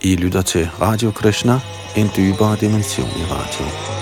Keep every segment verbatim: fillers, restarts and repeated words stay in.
I lytter til Radio Krishna, en dybere dimension i radio.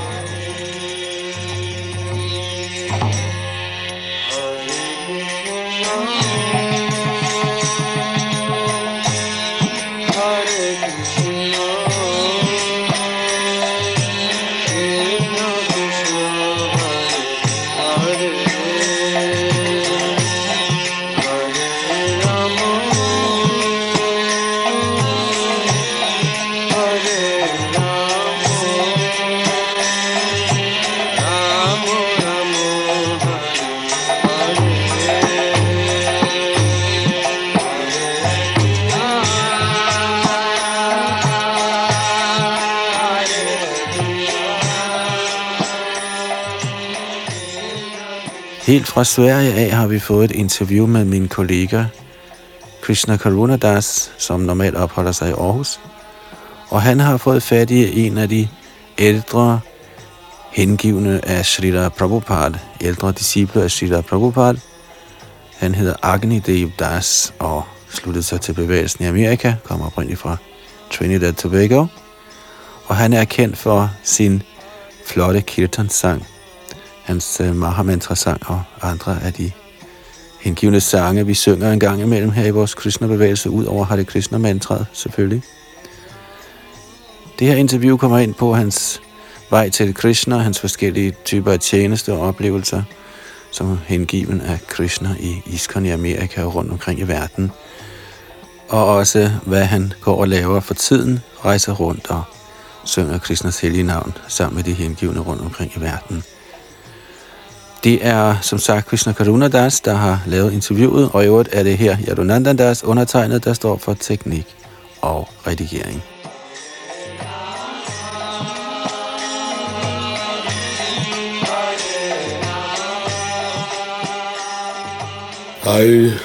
Helt fra Sverige af har vi fået et interview med min kollega Krishna Karuna Das, som normalt opholder sig i Aarhus. Og han har fået fat i en af de ældre hengivne af Srila Prabhupada, ældre disciple af Srila Prabhupada. Han hedder Agni Dev Das og sluttede sig til bevægelsen i Amerika, kommer oprindeligt fra Trinidad og Tobago. Og han er kendt for sin flotte kirtan-sang, hans uh, Mahamantra-sang og andre af de hengivne sange, vi synger en gang imellem her i vores Krishna-bevægelse, ud over Hare Krishna-mantraet selvfølgelig. Det her interview kommer ind på hans vej til Krishna, hans forskellige typer af tjeneste og oplevelser, som hengiven af Krishna i ISKCON i Amerika og rundt omkring i verden. Og også hvad han går og laver for tiden, rejser rundt og synger Krishnas hellige navn sammen med de hengivne rundt omkring i verden. Det er som sagt Krishna Karuna Das, der har lavet interviewet, og i øvrigt er det her Yadunandan Das undertegnet, der står for teknik og redigering. I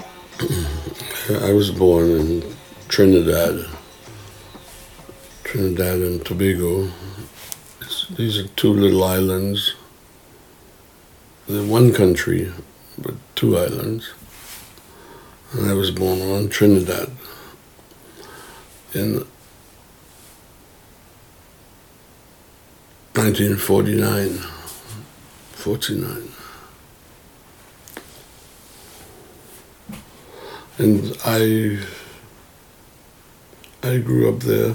I was born in Trinidad, Trinidad and Tobago. These are two little islands. They're one country, but two islands. And I was born on Trinidad in nineteen forty-nine, forty-nine. And I I grew up there.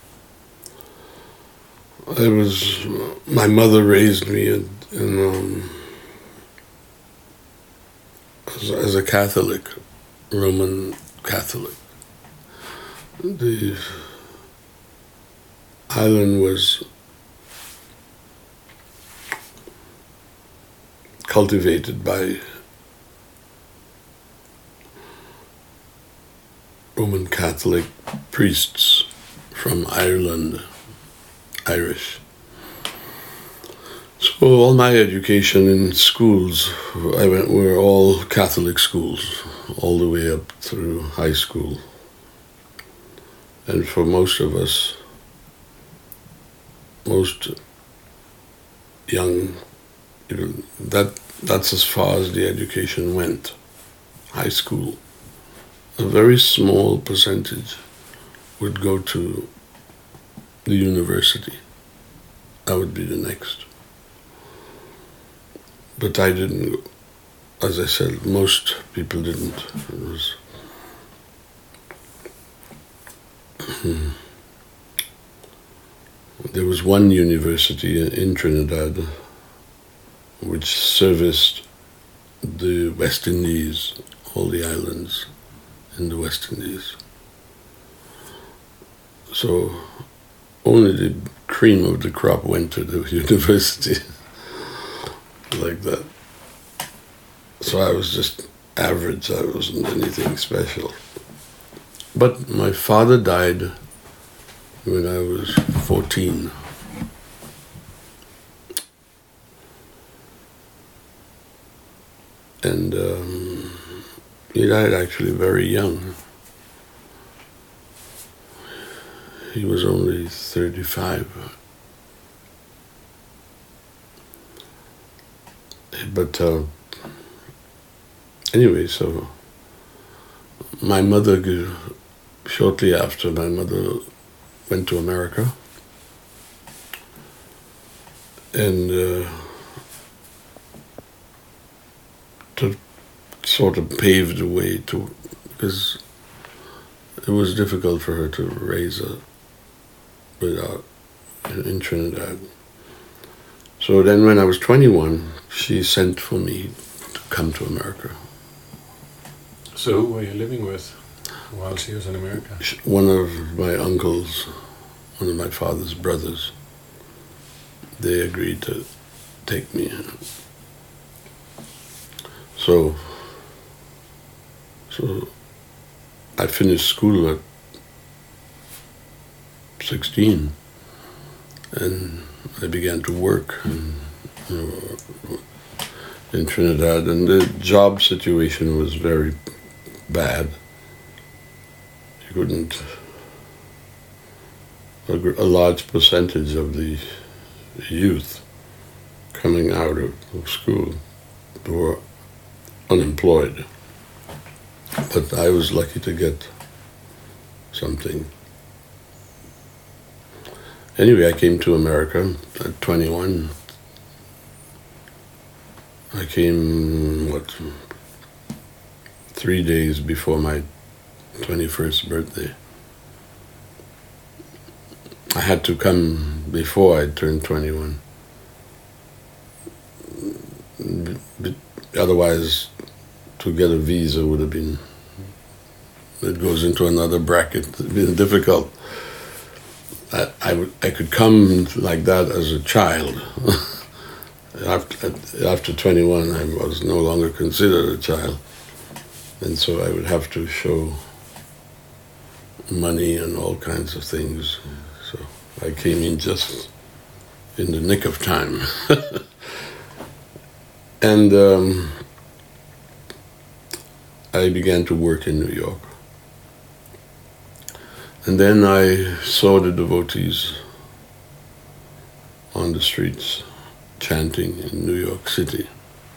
I was, my mother raised me in, in um, as, as a Catholic, Roman Catholic. The island was cultivated by Roman Catholic priests from Ireland, Irish. So all my education in schools, I went, were all Catholic schools, all the way up through high school. And for most of us, most young, that that's as far as the education went, high school. A very small percentage would go to the university. I would be the next. But I didn't, as I said, most people didn't. It was, hmm. There was one university in Trinidad which serviced the West Indies, all the islands in the West Indies. So only the cream of the crop went to the university like that. So I was just average, I wasn't anything special. But my father died when I was fourteen. And um, he died actually very young. He was only thirty-five. But uh, anyway, so my mother, shortly after, my mother went to America. And uh, to sort of pave the way to, because it was difficult for her to raise a without in Trinidad. So then when I was twenty-one, she sent for me to come to America. So who were you living with while she was in America? One of my uncles, one of my father's brothers, they agreed to take me. So, so I finished school at sixteen, and I began to work in, you know, in Trinidad, and the job situation was very bad. You couldn't, a, a large percentage of the youth coming out of, of school were unemployed. But I was lucky to get something. Anyway, I came to America at twenty-one. I came, what, three days before my twenty-first birthday. I had to come before I turned twenty-one. But otherwise, to get a visa would have been, it goes into another bracket. It would have been difficult. I, I, would, I could come like that as a child. after, after twenty-one, I was no longer considered a child. And so I would have to show money and all kinds of things. So I came in just in the nick of time. And um, I began to work in New York. And then I saw the devotees on the streets chanting in New York City.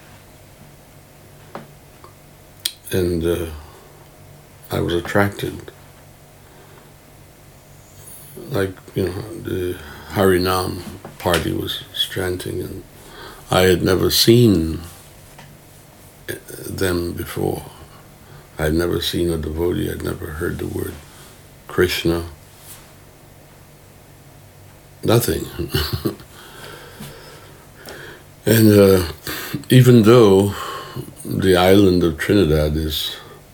And uh, I was attracted. Like, you know, the Harinam party was chanting, and I had never seen them before. I had never seen a devotee, I'd never heard the word Krishna. Nothing. And uh, even though the island of Trinidad is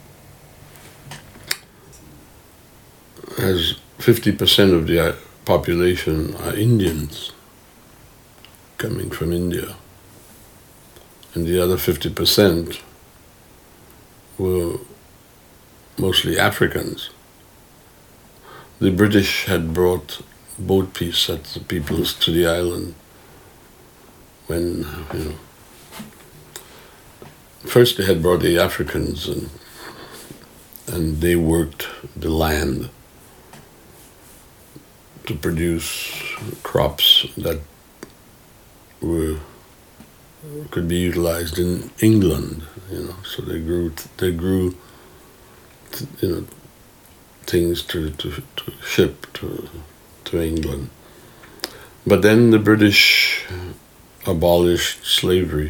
has fifty percent of the population are Indians coming from India, and the other fifty percent were mostly Africans. The British had brought boat peace sets of peoples to the island when, you know, first they had brought the Africans, and and they worked the land to produce crops that were could be utilized in England, you know. So they grew, they grew, you know, things to, to, to ship to to England. But then the British abolished slavery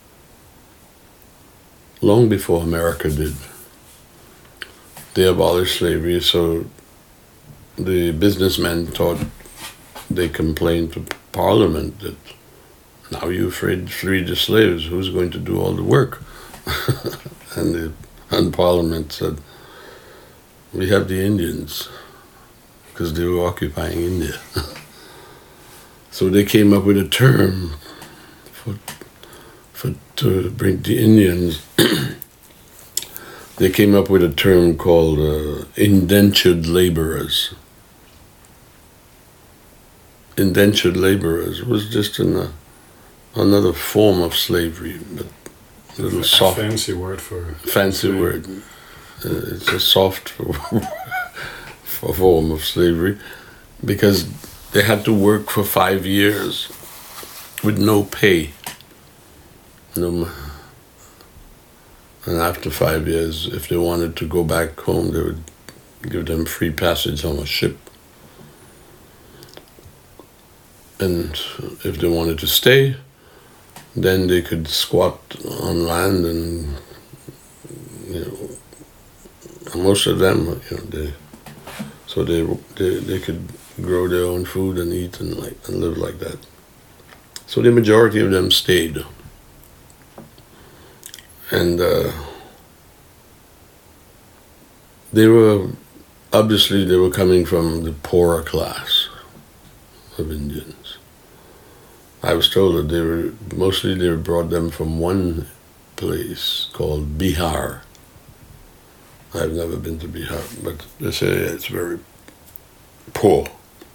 long before America did. They abolished slavery, so the businessmen thought, they complained to Parliament that now you've freed, freed the slaves, who's going to do all the work? and, the, and Parliament said, we have the Indians, because they were occupying India. So they came up with a term for, for to bring the Indians. They came up with a term called uh, indentured laborers. Indentured laborers was just an, uh, another form of slavery, but a little a soft. Fancy word for Fancy slavery. word. Uh, it's a soft form of slavery, because they had to work for five years with no pay. No, and after five years, if they wanted to go back home, they would give them free passage on a ship. and if they wanted to stay, then they could squat on land, and you know, most of them, you know, they so they they they could grow their own food and eat and like and live like that. So the majority of them stayed, and uh, they were obviously they were coming from the poorer class of Indians. I was told that they were mostly they brought them from one place called Bihar. I've never been to Bihar, but they say it's very poor.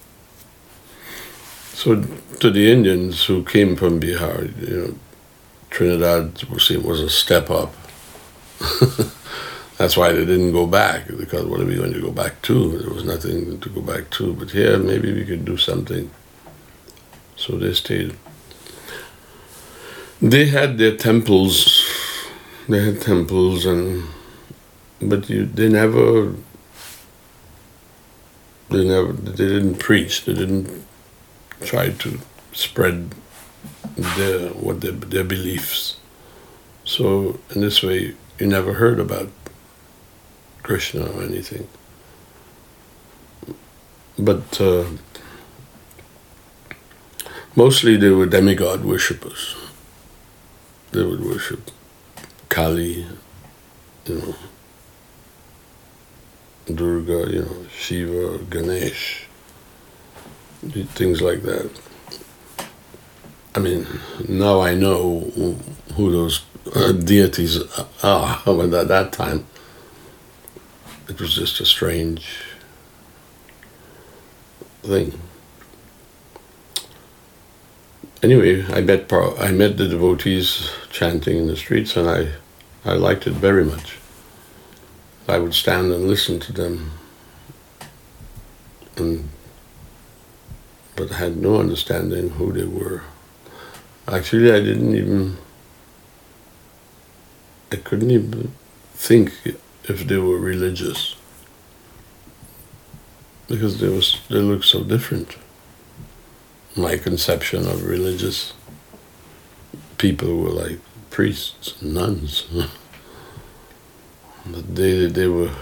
So to the Indians who came from Bihar, you know, Trinidad was, was a step up. That's why they didn't go back, because what are we going to go back to? There was nothing to go back to. But here, maybe we could do something. So they stayed. They had their temples. They had temples, and but you, they never, they never, they didn't preach. They didn't try to spread their what their their beliefs. So in this way, you never heard about Krishna or anything. But uh, mostly they were demigod worshippers. They would worship Kali, you know, Durga, you know, Shiva, Ganesh, things like that. I mean, now I know who those uh, deities are, but at that time, it was just a strange thing. Anyway, I met I met the devotees chanting in the streets, and I, I liked it very much. I would stand and listen to them, and but I had no understanding who they were. Actually, I didn't even, I couldn't even think if they were religious, because they was they looked so different. My conception of religious people were like priests and nuns. But they they were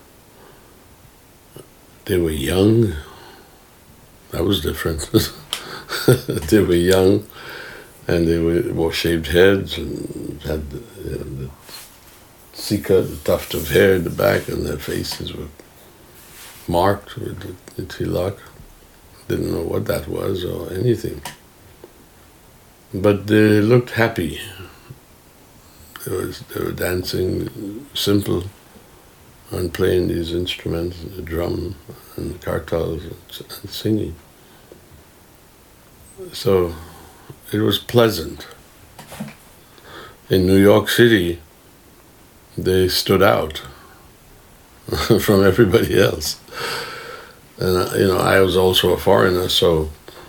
they were young. That was different. They were young, and they were, wore shaved heads and had the, you know, the sika, the tuft of hair in the back, and their faces were marked with the, the tilak. Didn't know what that was or anything. But they looked happy. They, was, they were dancing simple and playing these instruments, the drum and the kartals, and, and singing. So it was pleasant. In New York City, they stood out from everybody else. And, you know, I was also a foreigner, so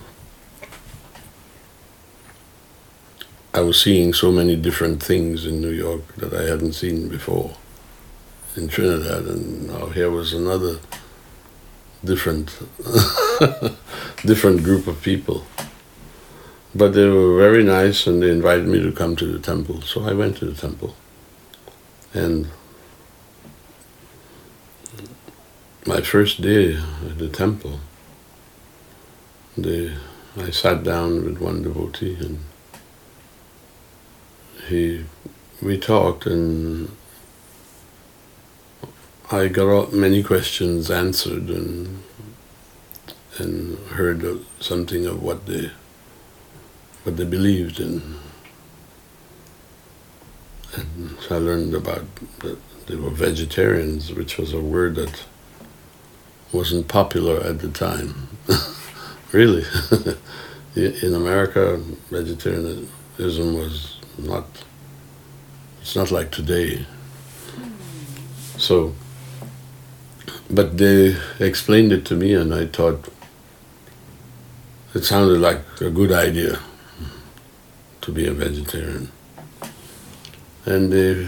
I was seeing so many different things in New York that I hadn't seen before in Trinidad, and now here was another different, different group of people. But they were very nice, and they invited me to come to the temple, so I went to the temple. And my first day at the temple, they, I sat down with one devotee, and he, we talked, and I got many questions answered, and and heard something of what they what they believed in. And so I learned about that they were vegetarians, which was a word that wasn't popular at the time. Really. In America, vegetarianism was not, it's not like today. So, but they explained it to me, and I thought it sounded like a good idea to be a vegetarian. And they,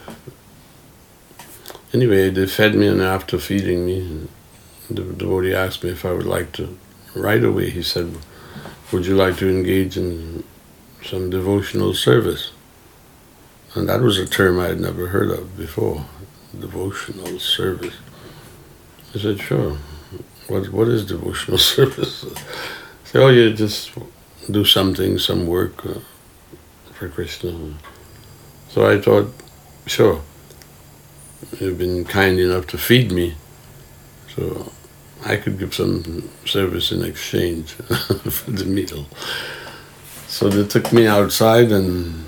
anyway, they fed me, and after feeding me, the devotee asked me if I would like to, right away he said, would you like to engage in some devotional service? And that was a term I had never heard of before, devotional service. I said, sure. What What is devotional service? I said, oh, you just do something, some work uh, for Krishna. So I thought, sure, you've been kind enough to feed me, so I could give some service in exchange for the meal. So they took me outside and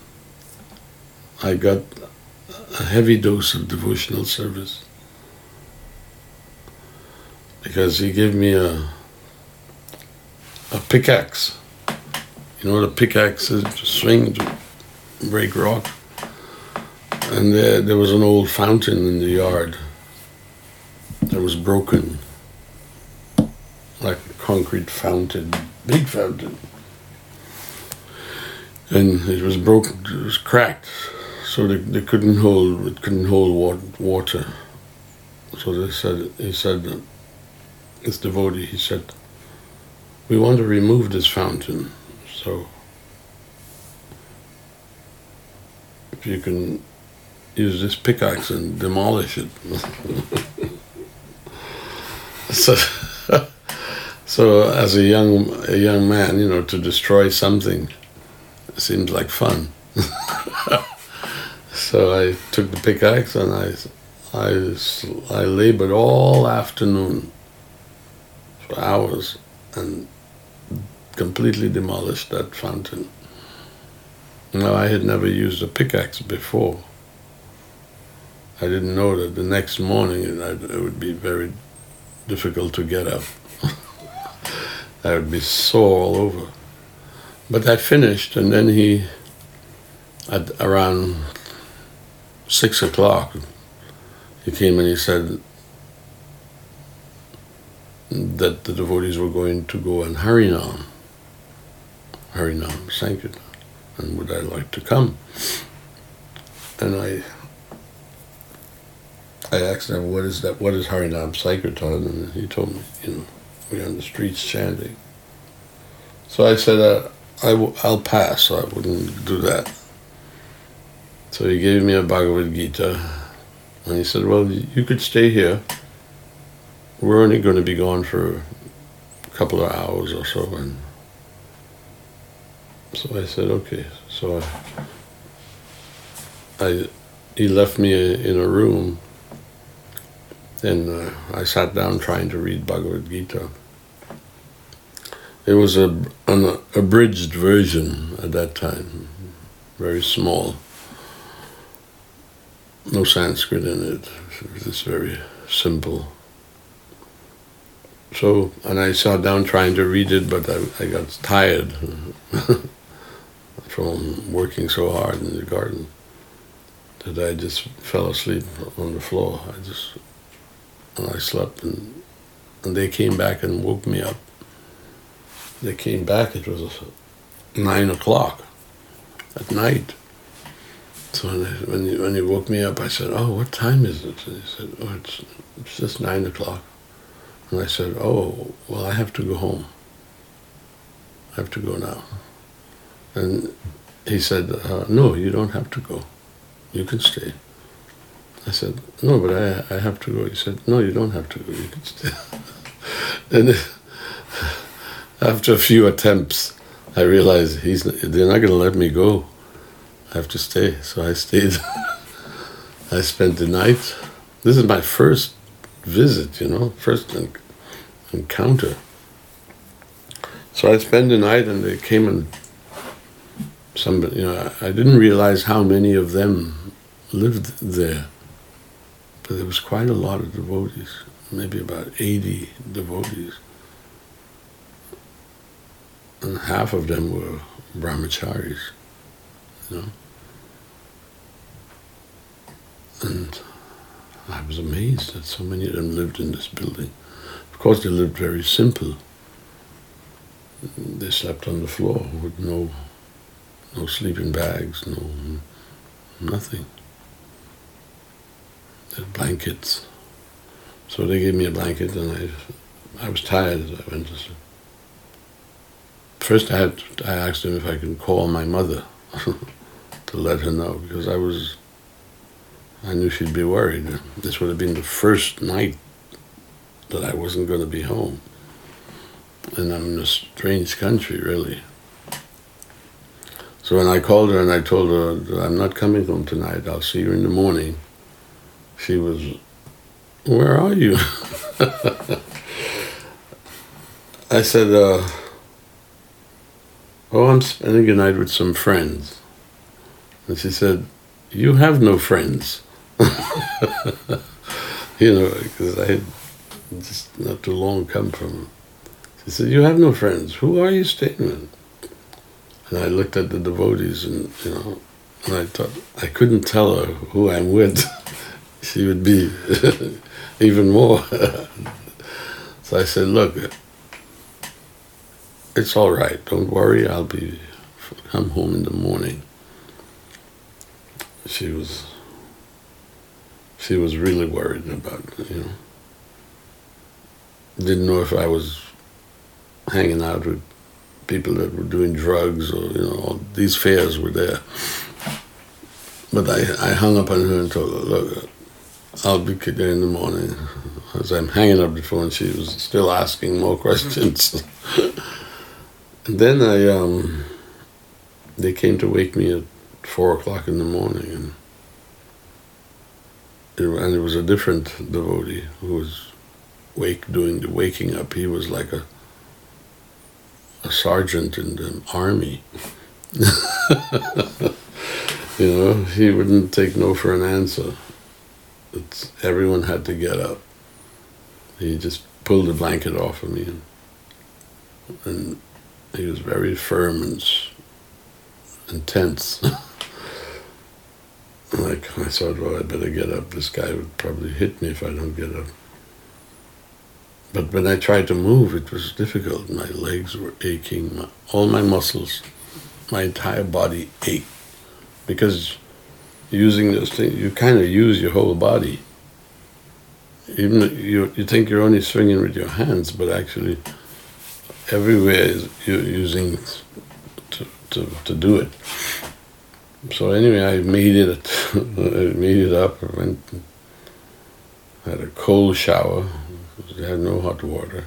I got a heavy dose of devotional service because he gave me a a pickaxe. You know what a pickaxe is? To swing, to break rock. And there, there was an old fountain in the yard that was broken, like a concrete fountain, big fountain. And it was broken, it was cracked, so they, they couldn't hold, it couldn't hold water. So they said, he said, this devotee, he said, we want to remove this fountain, so if you can use this pickaxe and demolish it. so, so as a young a young man, you know, to destroy something seems like fun. So I took the pickaxe and I, I, I labored all afternoon for hours and completely demolished that fountain. Now, I had never used a pickaxe before. I didn't know that the next morning it, it would be very difficult to get up. I would be sore all over. But I finished, and then he, at around six o'clock, he came and he said that the devotees were going to go on Harinam, Harinam Sankirtan, and would I like to come? And I I asked him, what is that, what is Harinam Sankirtan? And he told me, you know, we're on the streets chanting. So I said, uh, I w- I'll pass, so I wouldn't do that. So he gave me a Bhagavad Gita, and he said, well, you could stay here. We're only going to be gone for a couple of hours or so. And so I said, okay. So I, I he left me in a room, and uh, I sat down trying to read Bhagavad Gita. It was a, an abridged version at that time, very small. No Sanskrit in it. It was just very simple. So, and I sat down trying to read it, but I, I got tired from working so hard in the garden that I just fell asleep on the floor. I just, and I slept, and, and they came back and woke me up. They came back, it was nine o'clock at night. So when, they, when, he, when he woke me up, I said, oh, what time is it? And he said, oh, it's, it's just nine o'clock. And I said, oh, well, I have to go home. I have to go now. And he said, uh, no, you don't have to go. You can stay. I said, no, but I, I have to go. He said, no, you don't have to go. You can stay. And after a few attempts, I realized he's they're not going to let me go. I have to stay. So I stayed. I spent the night. This is my first visit, you know, first encounter. So I spent the night, and they came and somebody, you know, I didn't realize how many of them lived there, but there was quite a lot of devotees, maybe about eighty devotees, and half of them were brahmacharis, you know, and I was amazed that so many of them lived in this building. Of course, they lived very simple. They slept on the floor with no no sleeping bags, no nothing. They had blankets. So they gave me a blanket, and I I was tired as I went to sleep. first I had I asked him if I could call my mother to let her know, because I was I knew she'd be worried. This would have been the first night that I wasn't going to be home, and I'm in a strange country, really. So when I called her and I told her that I'm not coming home tonight, I'll see you in the morning, she was, where are you? I said, uh, oh, I'm spending a night with some friends. And she said, you have no friends. You know, because I had just not too long come from. She said, you have no friends. Who are you staying with? And I looked at the devotees, and you know, and I thought I couldn't tell her who I'm with. She would be even more. So I said, look, it's all right. Don't worry. I'll be come home in the morning. She was. She was really worried about it, you know. Didn't know if I was hanging out with people that were doing drugs, or, you know, all these fears were there. But I, I hung up on her and told her, look, I'll be there in the morning. As I'm hanging up the phone, she was still asking more questions. And then I, um, they came to wake me at four o'clock in the morning, and and it was a different devotee who was wake doing the waking up. He was like a a sergeant in the army. You know, he wouldn't take no for an answer. It's, everyone had to get up. He just pulled the blanket off of me, and, and he was very firm and intense. Like, I thought, well, I better get up. This guy would probably hit me if I don't get up. But when I tried to move, it was difficult. My legs were aching, my, all my muscles, my entire body ached. Because using this thing, you kind of use your whole body. Even you, you think you're only swinging with your hands, but actually everywhere is you're using to, to, to do it. So anyway, I made it. I made it up. I went, had a cold shower. I had no hot water,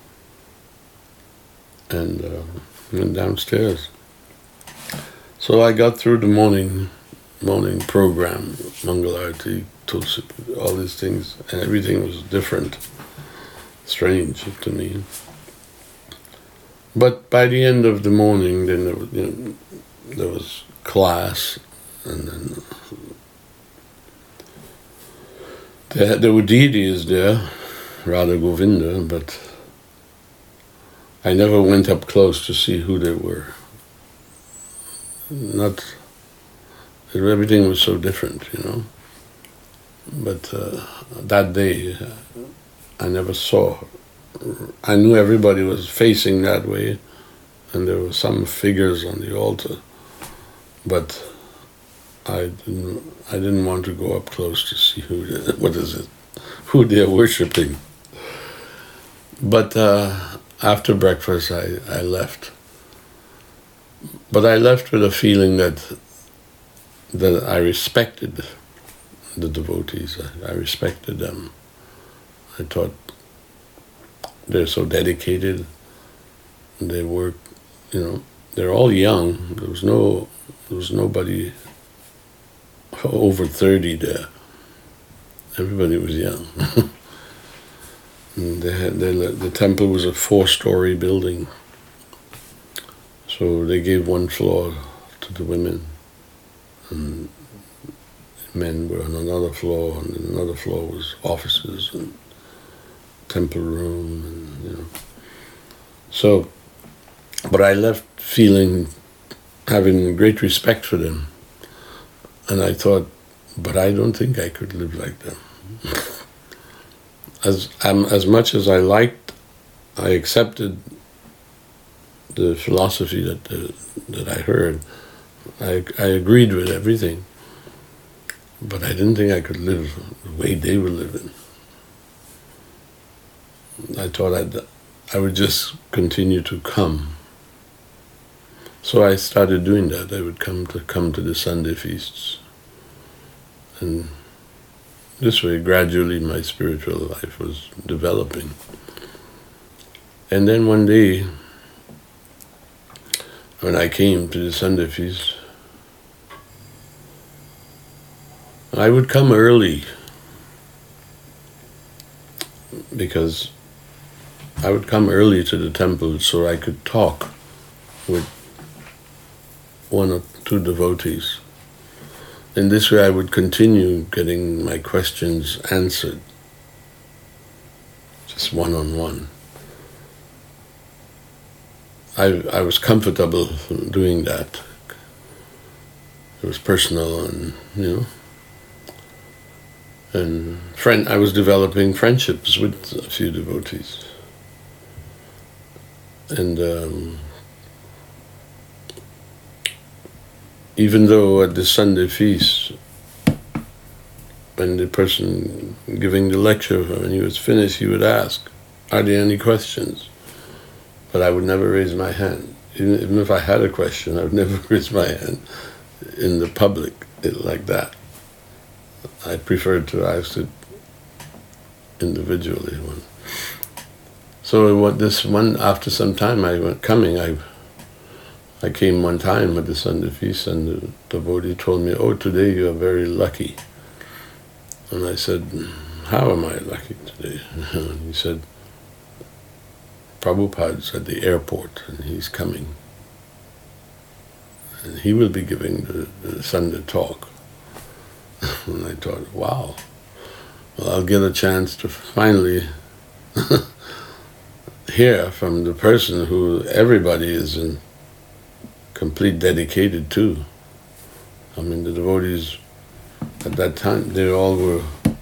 and uh, went downstairs. So I got through the morning, morning program, Mangalarti, Tulsi, all these things, and everything was different, strange to me. But by the end of the morning, then there was, you know, there was class, and then there, there were deities there, Radha Govinda, but I never went up close to see who they were. Not, everything was so different, you know. But uh, that day, I never saw. I knew everybody was facing that way, and there were some figures on the altar. But I didn't. I didn't want to go up close to see who. They, what is it? Who they're worshiping. But uh, after breakfast, I, I left. But I left with a feeling that that I respected the devotees. I, I respected them. I thought they're so dedicated. They work, you know. They're all young. There was no. There was nobody over thirty there. Everybody was young. And they had, they, the temple was a four-story building. So they gave one floor to the women, and men were on another floor, and another floor was offices and temple room, and you know. So, but I left feeling, having great respect for them, and I thought, but I don't think I could live like them. As um, as much as I liked, I accepted the philosophy that the, that I heard. I I agreed with everything, but I didn't think I could live the way they were living. I thought I'd I would just continue to come So I started doing that. I would come to come to the Sunday feasts. And this way, gradually, my spiritual life was developing. And then one day, when I came to the Sunday feast, I would come early because I would come early to the temple so I could talk with one or two devotees. In this way I would continue getting my questions answered, just one-on-one. I, I was comfortable doing that. It was personal and, you know, and friend, I was developing friendships with a few devotees. And um, even though at the Sunday feast, when the person giving the lecture, when he was finished, he would ask, are there any questions? But I would never raise my hand. Even, even if I had a question, I would never raise my hand in the public like that. I preferred to ask it individually. So what this one, after some time I went coming, I I came one time at the Sunday feast and the devotee told me, oh, today you are very lucky. And I said, how am I lucky today? And he said, Prabhupada's at the airport and he's coming. And he will be giving the, the Sunday talk. And I thought, wow, well, I'll get a chance to finally hear from the person who everybody is in complete dedicated to. I mean, the devotees at that time, they all were,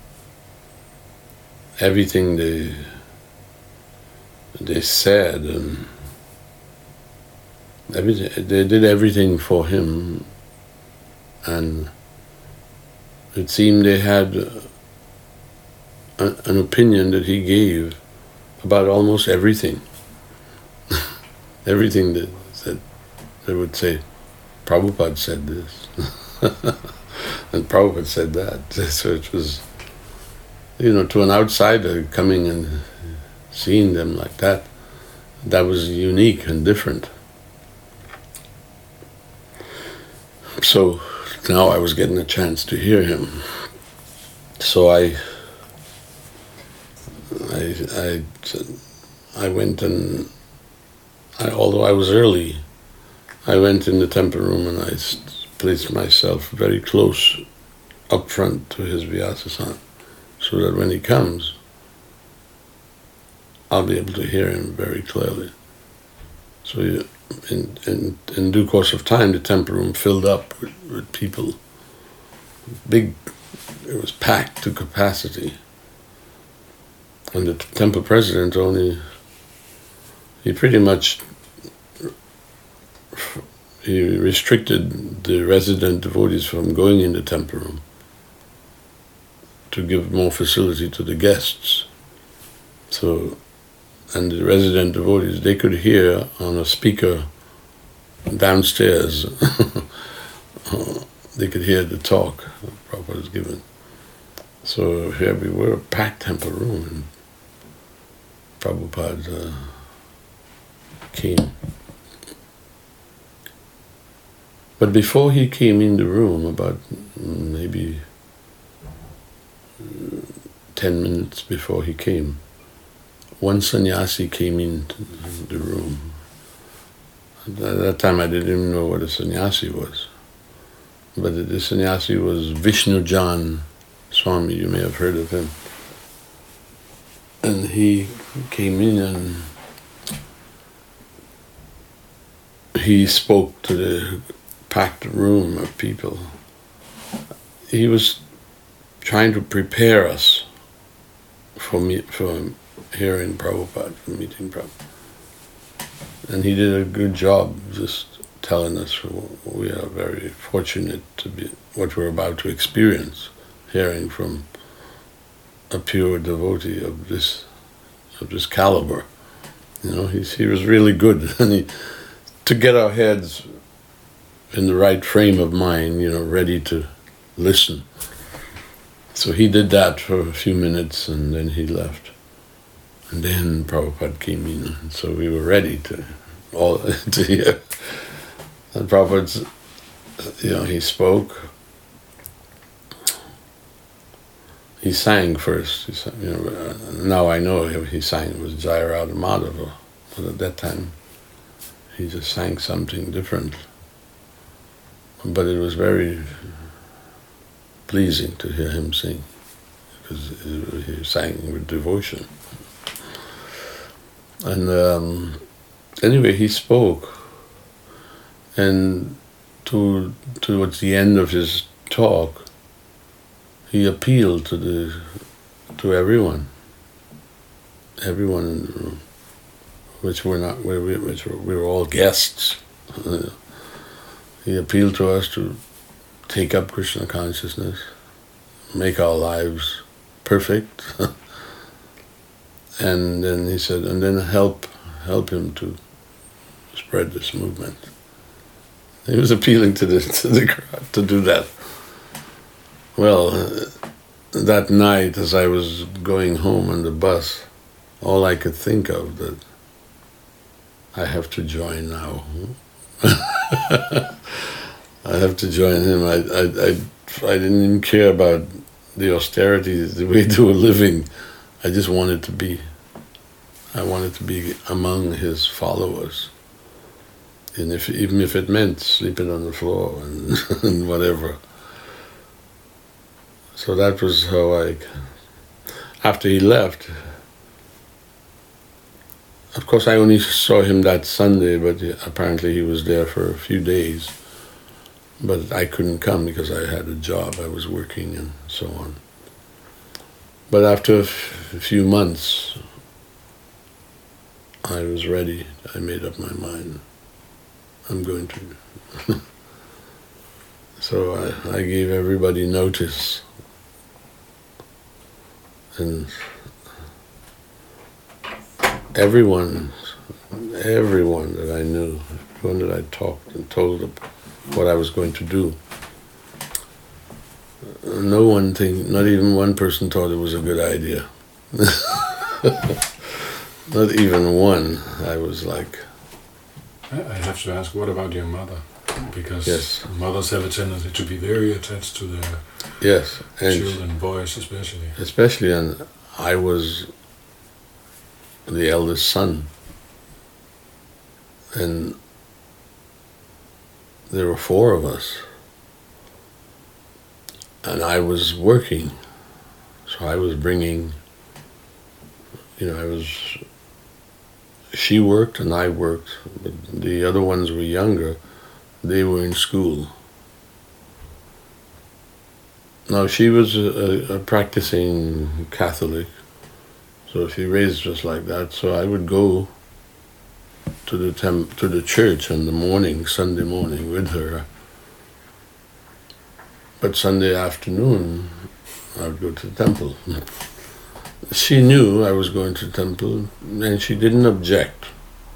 everything they they said and everything, they did everything for him, and it seemed they had a, an opinion that he gave about almost everything. Everything that said, they would say, Prabhupada said this, and Prabhupada said that. So it was, you know, to an outsider coming and seeing them like that, that was unique and different. So now I was getting a chance to hear him. So I, I, I, I went and, I, although I was early, I went in the temple room and I placed myself very close up front to his Vyasa-san, so that when he comes, I'll be able to hear him very clearly. So in, in, in due course of time, the temple room filled up with, with people. Big, it was packed to capacity. And the temple president only, he pretty much, he restricted the resident devotees from going in the temple room to give more facility to the guests. So, and the resident devotees, they could hear on a speaker downstairs, they could hear the talk Prabhupada was given. So here we were, a packed temple room, and Prabhupada uh, came. But before he came in the room, about maybe ten minutes before he came, one sannyasi came into the room. At that time I didn't even know what a sannyasi was. But the sannyasi was Vishnujan Swami, you may have heard of him. And he came in and he spoke to the packed room of people. He was trying to prepare us for me, for hearing Prabhupada, for meeting Prabhupada. And he did a good job just telling us we are very fortunate to be what we're about to experience, hearing from a pure devotee of this of this caliber. You know, he's, he was really good. And he, to get our heads in the right frame of mind, you know, ready to listen. So he did that for a few minutes and then he left. And then Prabhupada came in, and so we were ready to all to hear. And Prabhupada, you know, he spoke. He sang first. He sang, you know, now I know he sang it was Jaya Radha Madhava, but at that time he just sang something different. But it was very pleasing to hear him sing, because he sang with devotion. And um, anyway, he spoke, and to, towards the end of his talk, he appealed to the to everyone, everyone, which were not, which were, we were all guests. He appealed to us to take up Krishna consciousness, make our lives perfect. And then he said, and then help help him to spread this movement. He was appealing to the to the crowd to do that. Well, uh, that night as I was going home on the bus, all I could think of that I have to join now. I have to join him. I I I I didn't even care about the austerity, the way they were living. I just wanted to be, I wanted to be among his followers. And if even if it meant sleeping on the floor and, and whatever. So that was how I, after he left, of course I only saw him that Sunday, but apparently he was there for a few days. But I couldn't come because I had a job, I was working and so on. But after a, f- a few months, I was ready. I made up my mind. I'm going to. So I, I gave everybody notice. And everyone, everyone that I knew, everyone that I talked and told them what I was going to do, no one thing, not even one person thought it was a good idea. Not even one. I was like... I I have to ask, what about your mother? Because yes. mothers have a tendency to be very attached to their yes, and children, boys especially. Especially, and I was the eldest son. And there were four of us. And I was working, so I was bringing, you know, I was, she worked and I worked, but the other ones were younger, they were in school. Now she was a, a practicing Catholic, so she raised us like that, so I would go to the temp- to the church in the morning, Sunday morning with her. But Sunday afternoon, I would go to the temple. She knew I was going to the temple, and she didn't object.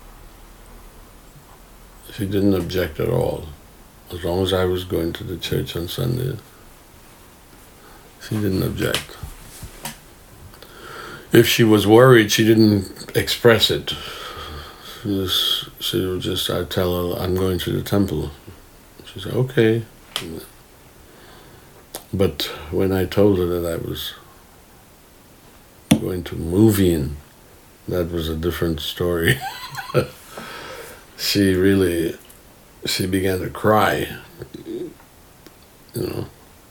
She didn't object at all, as long as I was going to the church on Sunday. She didn't object. If she was worried, she didn't express it. She, was, she would just, I'd tell her, I'm going to the temple. She said, okay. But when I told her that I was going to move in, that was a different story. She really, she began to cry, you know.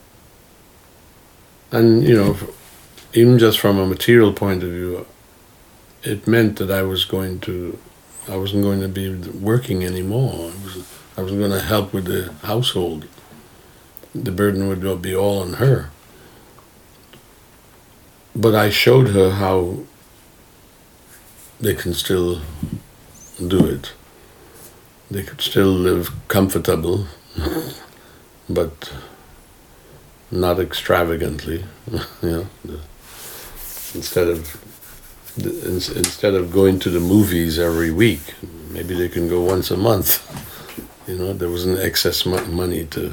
And, you know, even just from a material point of view, it meant that I was going to, I wasn't going to be working anymore. I was, I was going to help with the household. The burden would be all on her. But I showed her how they can still do it. They could still live comfortable, but not extravagantly. You know, the, instead of the, instead of going to the movies every week, maybe they can go once a month. You know, there was an excess mo- money to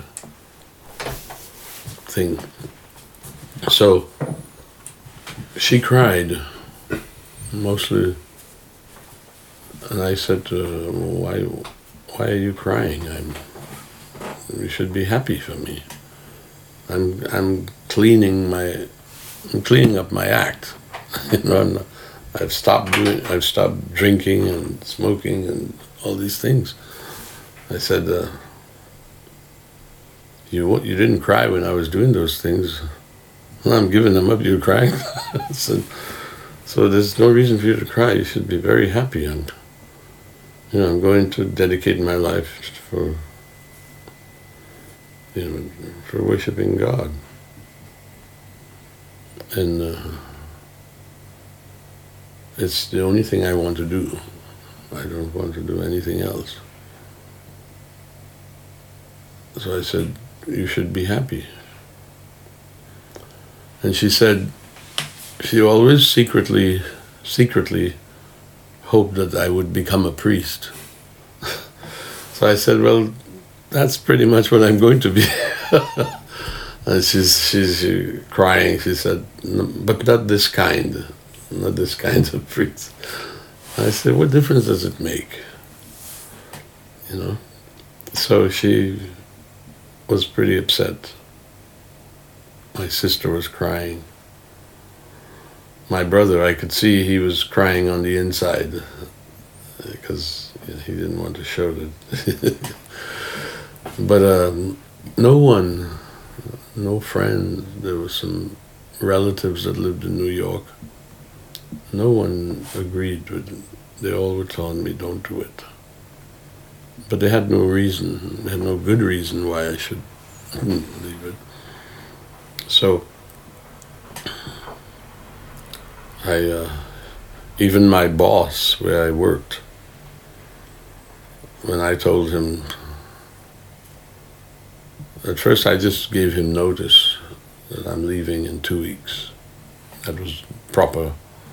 thing. So she cried mostly, and I said to her, "Why, why are you crying? I'm. You should be happy for me. I'm, I'm cleaning my, I'm cleaning up my act. You know, I'm not, I've stopped doing, I've stopped drinking and smoking and all these things." I said, uh, "You, you didn't cry when I was doing those things. Well, I'm giving them up. You're crying." so, so there's no reason for you to cry. You should be very happy. And you know, I'm going to dedicate my life for, you know, for worshiping God. And uh, it's the only thing I want to do. I don't want to do anything else. So I said, "You should be happy." And she said, she always secretly, secretly hoped that I would become a priest. So I said, "Well, that's pretty much what I'm going to be." And she's, she's she, crying. She said, "But not this kind, not this kind of priest." I said, "What difference does it make?" You know? So she was pretty upset. My sister was crying. My brother, I could see he was crying on the inside because you know, he didn't want to show that. But um, no one, no friends, there were some relatives that lived in New York. No one agreed with it. They all were telling me, "Don't do it." But they had no reason, they had no good reason why I should leave it. So, I, uh, even my boss where I worked, when I told him, at first I just gave him notice that I'm leaving in two weeks. That was proper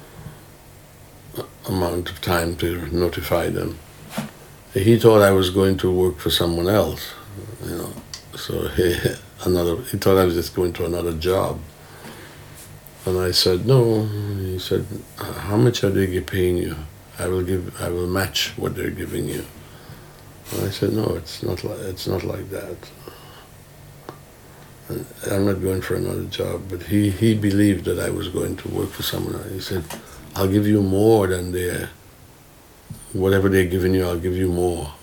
amount of time to notify them. He thought I was going to work for someone else, you know. So he, another, he thought I was just going to another job. And I said, "No." He said, "How much are they paying you? I will give, I will match what they're giving you." And I said, "No, it's not like, it's not like that. And I'm not going for another job." But he, he believed that I was going to work for someone else. He said, "I'll give you more than they're, whatever they're giving you, I'll give you more."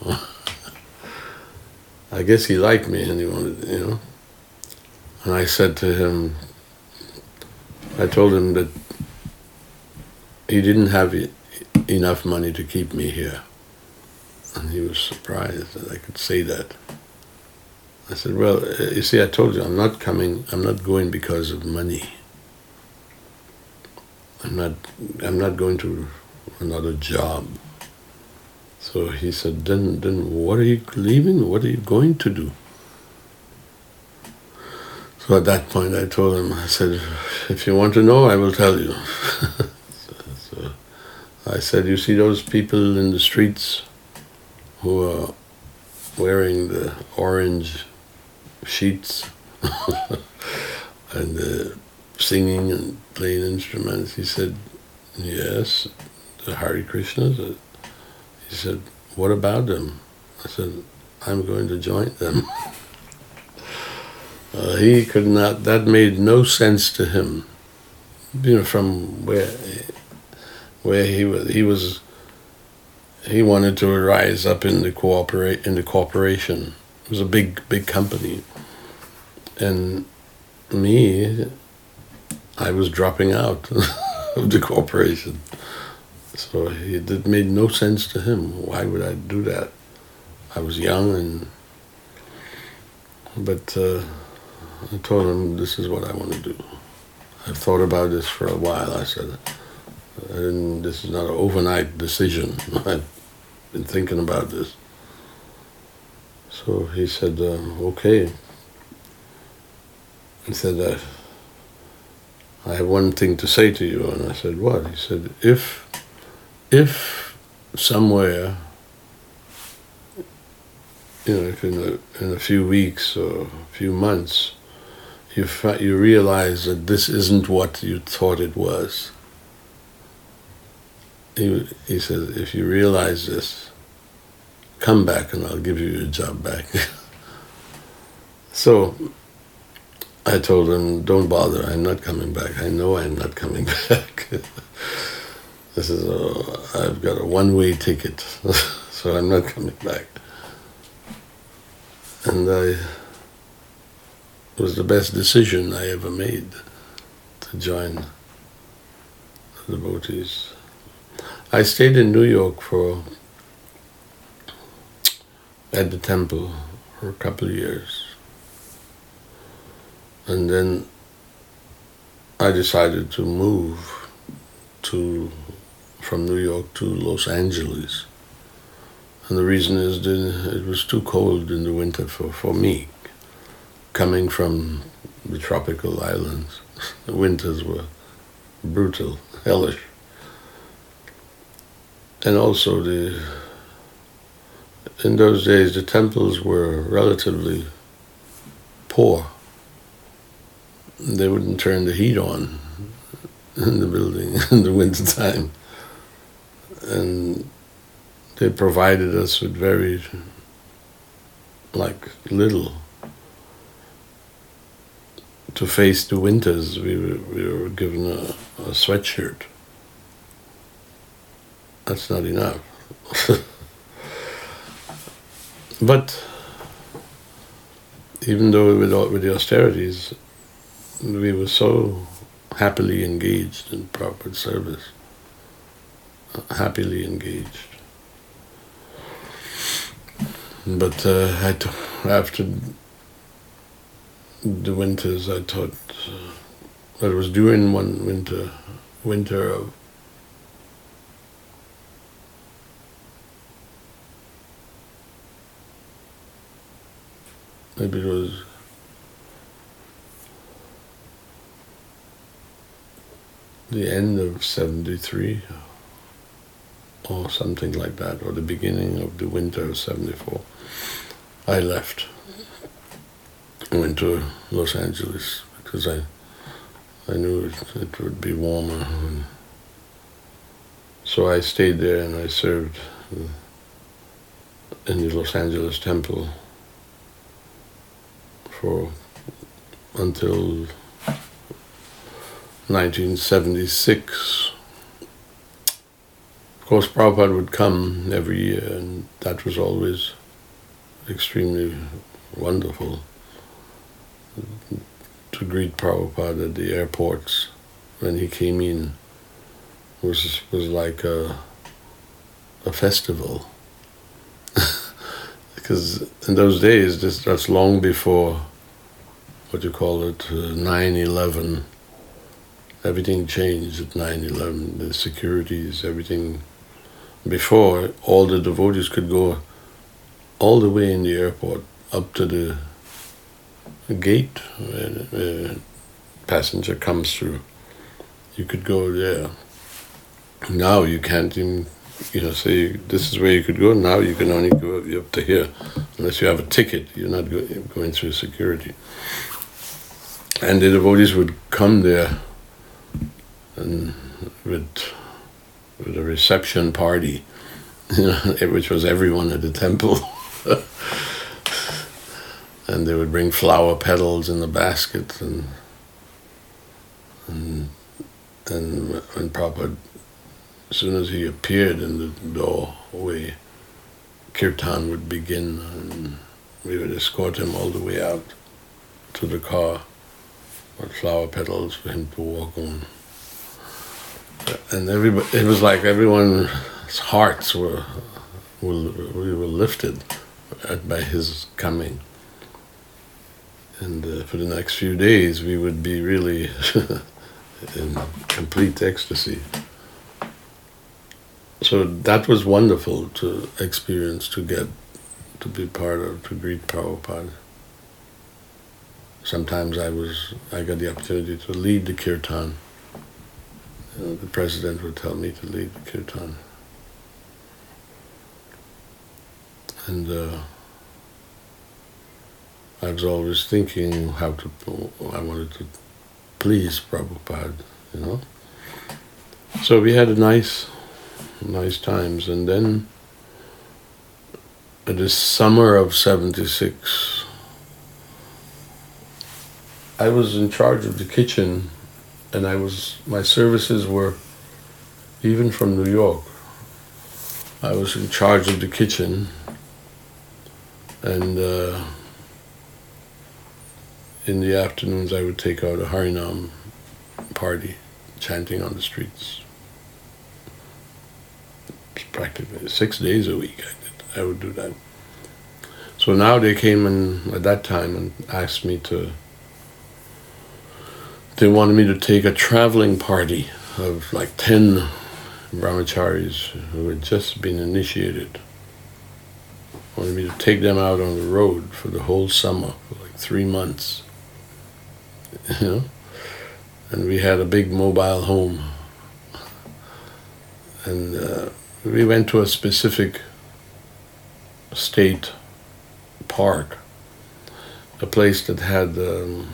I guess he liked me and he wanted, you know. And I said to him, I told him that he didn't have e- enough money to keep me here. And he was surprised that I could say that. I said, "Well, you see, I told you, I'm not coming, I'm not going because of money. I'm not, I'm not going to another job." So he said, then, then what are you leaving? What are you going to do?" So at that point I told him, I said, "If you want to know, I will tell you." so, so I said, "You see those people in the streets who are wearing the orange sheets and uh, singing and playing instruments?" He said, "Yes, the Hare Krishnas." He said, "What about them?" I said, "I'm going to join them." uh, he could not, that made no sense to him. You know, from where where he was, he was, he wanted to rise up in the cooperate in the corporation. It was a big, big company. And me, I was dropping out of the corporation. So it, it made no sense to him. Why would I do that? I was young, and but uh, I told him, "This is what I want to do. I've thought about this for a while." I said, I didn't, "This is not an overnight decision. I've been thinking about this." So he said, uh, "Okay." He said, uh, "I have one thing to say to you." And I said, "What?" He said, if If somewhere you know, if in a, in a few weeks or a few months, you fi- you realize that this isn't what you thought it was. He, he says, if you realize this, come back and I'll give you your job back. So I told him, don't bother, I'm not coming back. I know I'm not coming back. This is a, I've got a one-way ticket, so I'm not coming back. And I, it was the best decision I ever made to join the devotees. I stayed in New York for, at the temple for a couple of years. And then I decided to move to, from New York to Los Angeles. And the reason is that it was too cold in the winter for, for me. Coming from the tropical islands, the winters were brutal, hellish. And also the, in those days the temples were relatively poor. They wouldn't turn the heat on in the building in the winter time. And they provided us with very, like, little. To face the winters, we were, we were given a, a sweatshirt. That's not enough. But even though with, with the austerities, we were so happily engaged in proper service, happily engaged. But uh, I t- after the winters, I thought, uh, it was during one winter, winter of maybe it was the end of seventy-three or something like that, or the beginning of the winter of seventy-four. I left. I went to Los Angeles because I I knew it, it would be warmer. And so I stayed there and I served in the Los Angeles temple for until nineteen seventy-six. Of course, Prabhupada would come every year, and that was always extremely wonderful. To greet Prabhupada at the airports when he came in was was like a a festival. Because in those days, this, that's long before, what you call it, uh, nine eleven. Everything changed at nine eleven, the securities, everything. Before, all the devotees could go all the way in the airport up to the gate where the passenger comes through. You could go there. Now you can't even, you know, say this is where you could go. Now you can only go up to here. Unless you have a ticket, you're not go, going through security. And the devotees would come there and with, with a reception party, you know, which was everyone at the temple. And they would bring flower petals in the basket, and and and when Prabhupada, as soon as he appeared in the doorway, kirtan would begin, and we would escort him all the way out to the car with flower petals for him to walk on. And everybody, it was like everyone's hearts were, were we were lifted by his coming. And uh, for the next few days, we would be really in complete ecstasy. So that was wonderful to experience, to get, to be part of, to greet Prabhupada. Sometimes I was, I got the opportunity to lead the kirtan. You know, the president would tell me to lead the kirtan. And uh, I was always thinking how to, I wanted to please Prabhupada, you know. So we had a nice, nice times. And then in the summer of seventy-six, I was in charge of the kitchen, and I was, my services were even from New York. I was in charge of the kitchen, and uh, in the afternoons I would take out a Harinam party, chanting on the streets. Practically six days a week I did. I would do that. So now they came in at that time and asked me to, they wanted me to take a traveling party of like ten brahmacharis who had just been initiated. Wanted me to take them out on the road for the whole summer, for like three months. You know? And we had a big mobile home. And uh, we went to a specific state park, a place that had, um,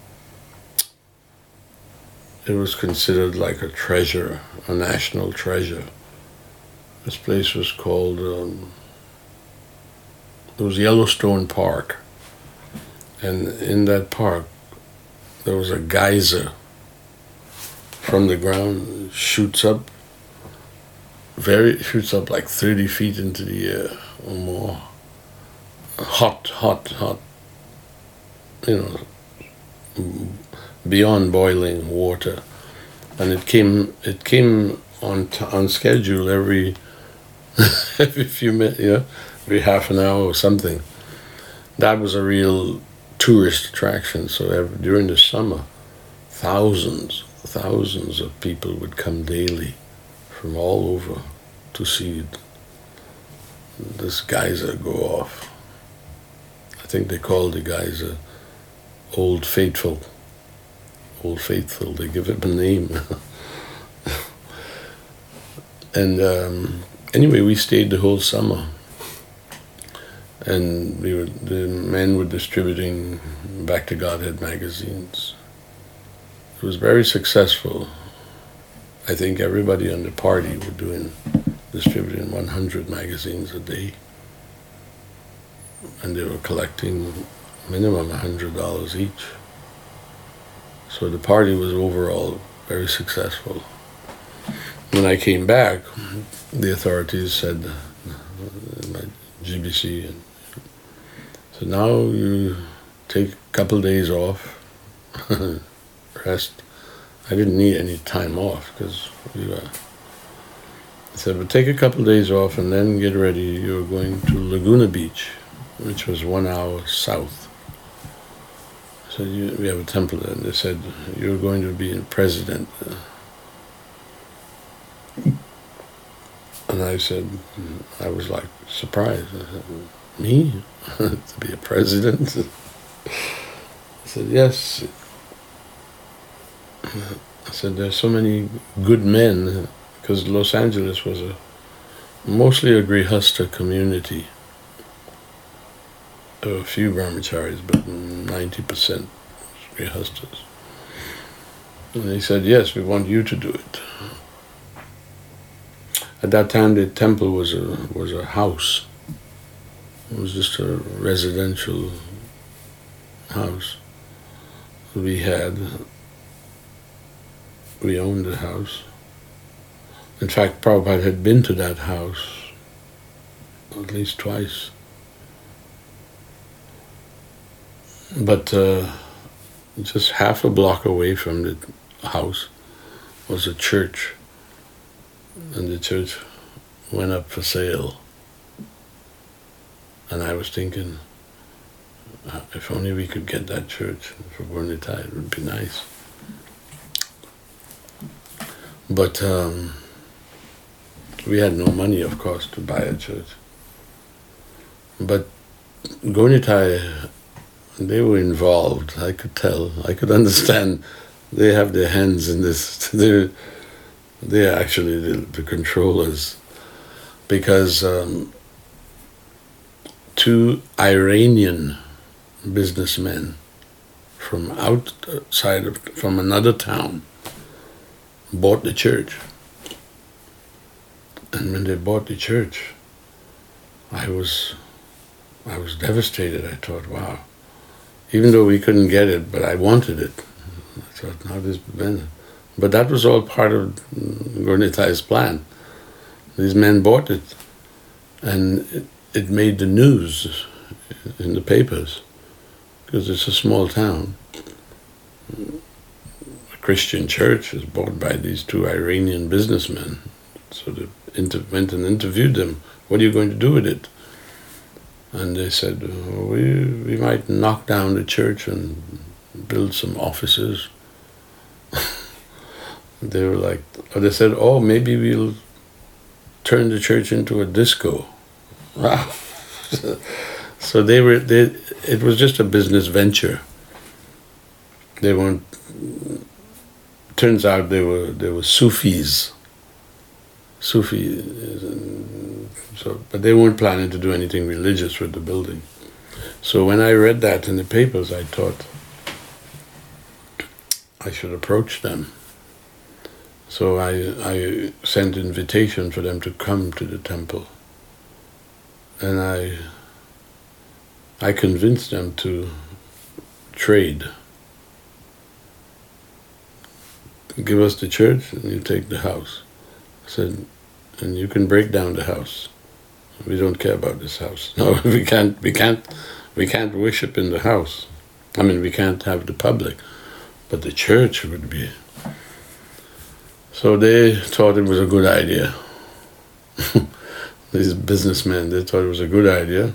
it was considered like a treasure, a national treasure. This place was called, um, it was Yellowstone Park. And in that park, there was a geyser from the ground, shoots up, very, shoots up like thirty feet into the air or more. Hot, hot, hot, you know, beyond boiling water. And it came, it came on t- on schedule every, every few minutes, you know, every half an hour or something. That was a real tourist attraction. So every, during the summer, thousands, thousands of people would come daily from all over to see this geyser go off. I think they called the geyser Old Faithful. Old Faithful, they give it a name. And um, anyway, we stayed the whole summer. And we were, the men were distributing Back to Godhead magazines. It was very successful. I think everybody on the party were doing, distributing one hundred magazines a day. And they were collecting minimum one hundred dollars each. So the party was overall very successful. When I came back, the authorities said, my G B C, and so now you take a couple days off, rest. I didn't need any time off because we were. I said, but take a couple days off and then get ready. You're going to Laguna Beach, which was one hour south. So you, we have a temple there, and they said, you're going to be a president. And I said, I was like surprised. I said, me? To be a president? I said, yes. I said, there's so many good men, because Los Angeles was a mostly a Grihasta community. There were a few brahmacharis, but ninety percent Grihastas. And he said, yes, we want you to do it. At that time, the temple was a was a house. It was just a residential house. We had, we owned the house. In fact, Prabhupada had been to that house at least twice. But uh, just half a block away from the house was a church. And the church went up for sale. And I was thinking, if only we could get that church for Burnita, it would be nice. But um, we had no money, of course, to buy a church. But Gaura-Nitai, they were involved. I could tell. I could understand. They have their hands in this. They're, they're actually the, the controllers. Because um, two Iranian businessmen from outside of, from another town, bought the church. And when they bought the church, I was, I was devastated. I thought, wow. Even though we couldn't get it, but I wanted it. I thought, now this men. But that was all part of Gaura Nitai's plan. These men bought it, and it, it made the news in the papers, because it's a small town. A Christian church is bought by these two Iranian businessmen. So they inter- went and interviewed them. What are you going to do with it? And they said, oh, we, we might knock down the church and build some offices. They were like, or they said, oh, maybe we'll turn the church into a disco. Wow. So they were, they, it was just a business venture. They weren't, turns out they were, they were Sufis. Sufi, so, but they weren't planning to do anything religious with the building. So when I read that in the papers, I thought I should approach them. So I, I sent invitation for them to come to the temple. And I, I convinced them to trade. Give us the church and you take the house. I said, and you can break down the house. We don't care about this house. No, we can't, we can't, we can't worship in the house. I mean, we can't have the public, but the church would be. So they thought it was a good idea. These businessmen, they thought it was a good idea.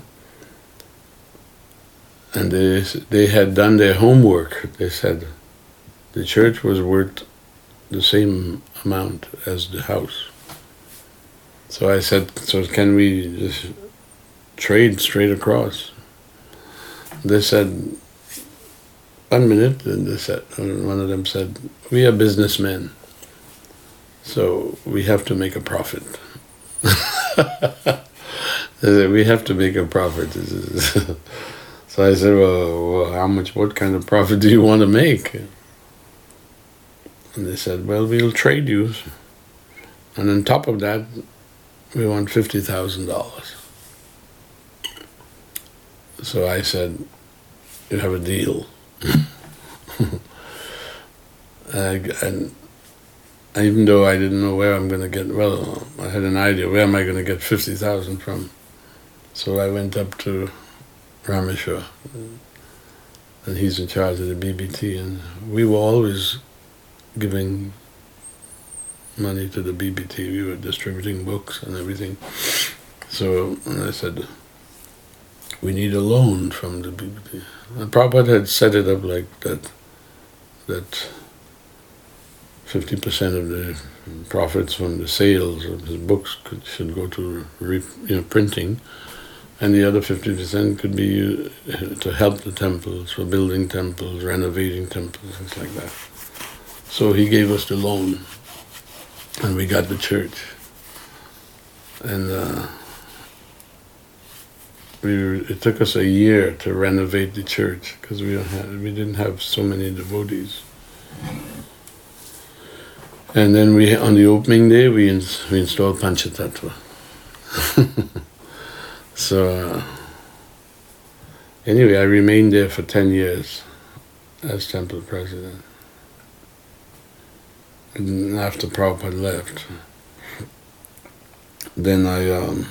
And they, they had done their homework. They said the church was worth the same amount as the house. So I said, so can we just trade straight across? They said, one minute, and they said, one of them said, we are businessmen, so we have to make a profit. They said, we have to make a profit. So I said, well, well, how much, what kind of profit do you want to make? And they said, well, we'll trade you. And on top of that, we want fifty thousand dollars. So I said, you have a deal. and, and even though I didn't know where I'm going to get, well, I had an idea, where am I going to get fifty thousand from? So I went up to Rameshwar, and he's in charge of the B B T, and we were always giving money to the B B T. We were distributing books and everything. So and I said, we need a loan from the B B T. And Prabhupada had set it up like that, that fifty percent of the profits from the sales of his books could, should go to re, you know, printing, and the other fifty percent could be uh, to help the temples, for building temples, renovating temples, things like that. So he gave us the loan, and we got the church. And uh, we were, it took us a year to renovate the church because we don't have, we didn't have so many devotees. And then we, on the opening day, we ins we installed Panchatattva. So uh, anyway, I remained there for ten years as temple president. And after Prabhupada left, then I, um,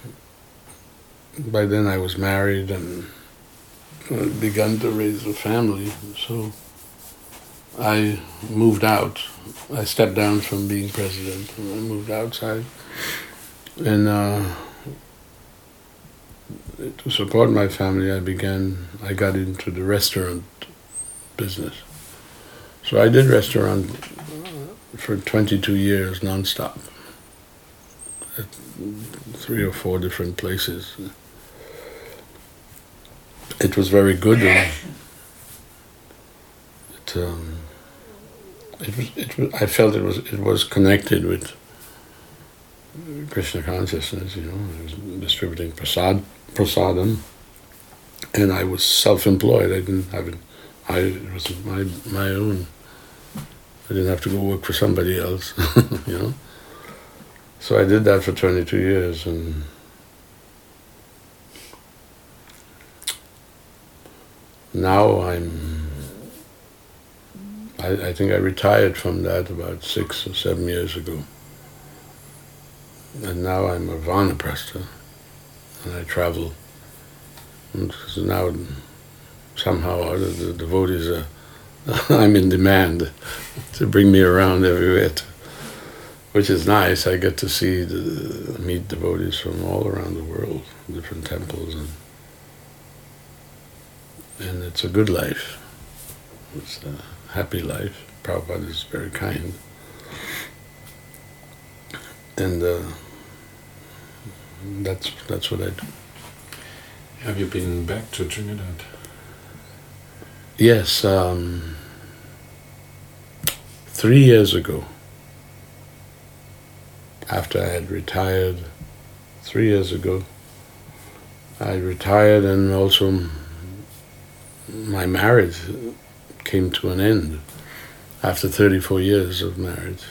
by then I was married and begun to raise a family, so I moved out. I stepped down from being president and I moved outside. And uh, to support my family, I began, I got into the restaurant business. So I did restaurant for twenty-two years non-stop, at three or four different places. It was very good. And it, um, it was, it was, I felt it was, it was connected with Krishna consciousness, you know. I was distributing prasad, prasadam, and I was self-employed. I didn't have it. I it was my my own. I didn't have to go work for somebody else, you know. So I did that for twenty-two years, and now I'm. I, I think I retired from that about six or seven years ago, and now I'm a Vanaprastha, and I travel. And so now, somehow, or other, the devotees are. I'm in demand to bring me around everywhere, to, which is nice. I get to see the, meet devotees from all around the world, different temples, and and it's a good life. It's a happy life. Prabhupada is very kind, and uh, that's that's what I do. Have you been back to Trinidad? Yes, um, three years ago, after I had retired, three years ago, I retired, and also my marriage came to an end after thirty-four years of marriage.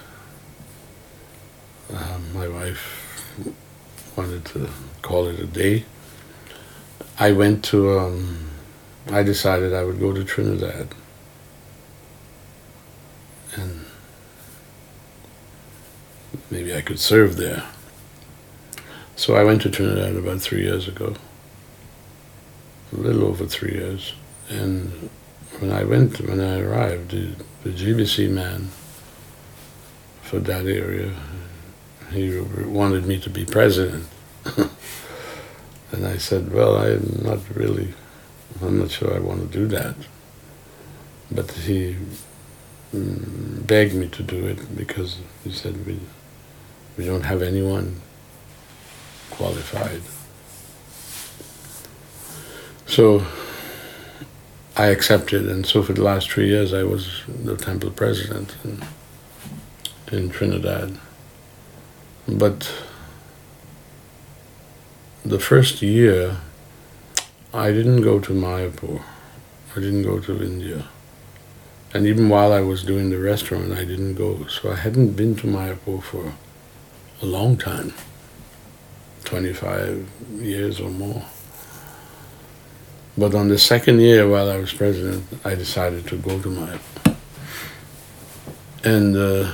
Uh, my wife wanted to call it a day. I went to... Um, I decided I would go to Trinidad, and maybe I could serve there. So I went to Trinidad about three years ago, a little over three years. And when I went, when I arrived, the, the G B C man for that area, he wanted me to be president. And I said, well, I'm not really... I'm not sure I want to do that. But he mm, begged me to do it because he said we we don't have anyone qualified. So I accepted, and so for the last three years I was the temple president in, in Trinidad. But the first year I didn't go to Mayapur. I didn't go to India. And even while I was doing the restaurant, I didn't go. So I hadn't been to Mayapur for a long time, twenty-five years or more. But on the second year while I was president, I decided to go to Mayapur. And uh,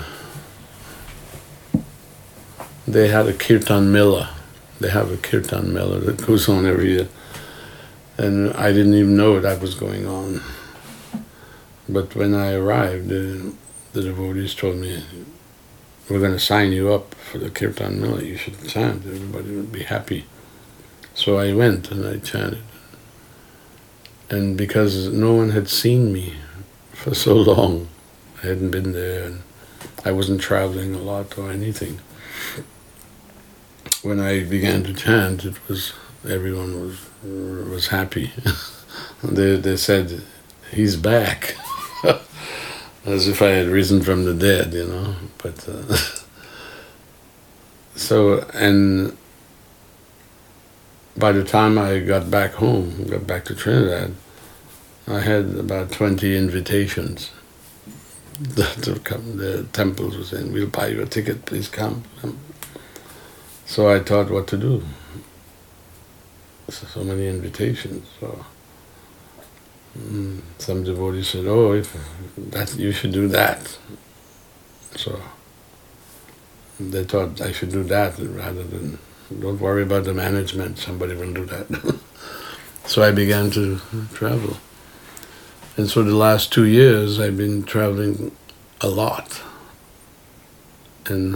they had a Kirtan Mela. They have a Kirtan Mela that goes on every year. And I didn't even know that was going on. But when I arrived, the, the devotees told me, we're going to sign you up for the Kirtan Mela. You should chant. Everybody would be happy. So I went and I chanted. And because no one had seen me for so long, I hadn't been there, and I wasn't traveling a lot or anything. When I began to chant, it was everyone was was happy. they they said, "He's back," as if I had risen from the dead, you know. But uh, so and by the time I got back home, got back to Trinidad, I had about twenty invitations to come. The temples were saying, "We'll buy you a ticket. Please come." come. So I thought what to do. So many invitations. So mm, some devotees said, "Oh, if that you should do that." So they thought I should do that rather than, don't worry about the management, somebody will do that. So I began to travel. And so the last two years I've been traveling a lot. And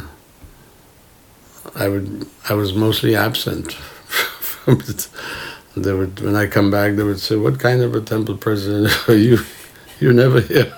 I would I was mostly absent from it. They would, when I come back, they would say, "What kind of a temple president are you? You're never here."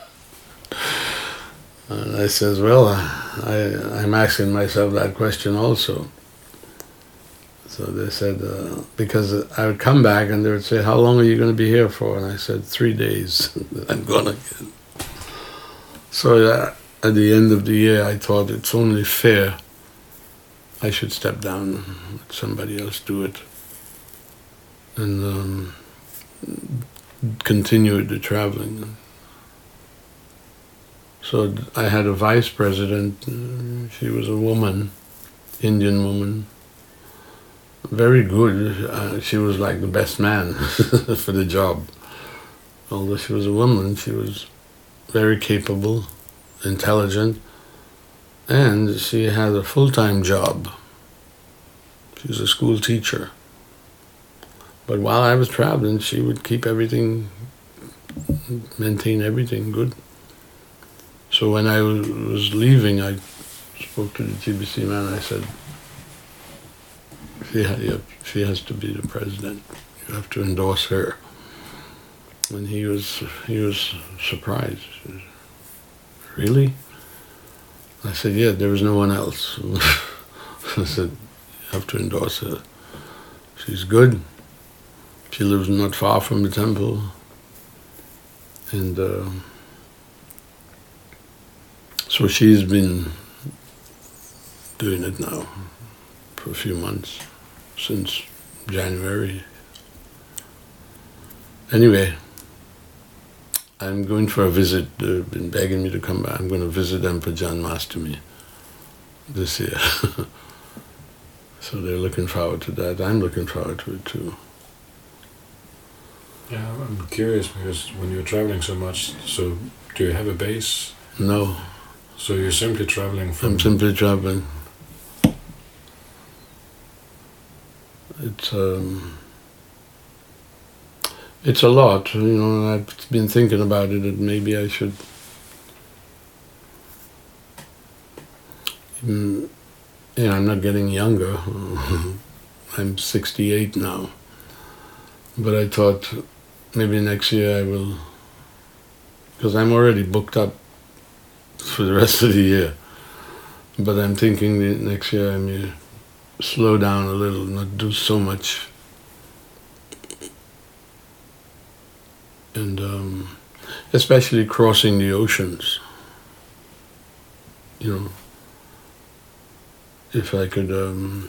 And I says, "Well, I, I'm asking myself that question also." So they said, uh, because I would come back and they would say, "How long are you going to be here for?" And I said, three days, I'm gone again. So uh, at the end of the year, I thought it's only fair I should step down, let somebody else do it. And um, continued the traveling. So I had a vice president. She was a woman, Indian woman, very good. Uh, she was like the best man for the job. Although she was a woman, she was very capable, intelligent, and she had a full-time job. She was a school teacher. But while I was traveling, she would keep everything, maintain everything good. So when I was leaving, I spoke to the G B C man. I said, she, ha- she has to be the president. You have to endorse her. And he was he was surprised. He said, really? I said, yeah, there was no one else. I said, you have to endorse her. She's good. She lives not far from the temple. And uh, so she's been doing it now for a few months, since January. Anyway, I'm going for a visit. They've been begging me to come back. I'm going to visit them for Janmashtami this year. So they're looking forward to that. I'm looking forward to it too. Yeah, I'm curious because when you're traveling so much, so do you have a base? No. So you're simply traveling from... I'm simply traveling. It's um, it's a lot, you know. I've been thinking about it. That maybe I should, mm, you know, I'm not getting younger. I'm sixty-eight now, but I thought maybe next year I will, because I'm already booked up for the rest of the year. But I'm thinking that next year I may slow down a little, not do so much. And um, especially crossing the oceans. You know, if I could, um,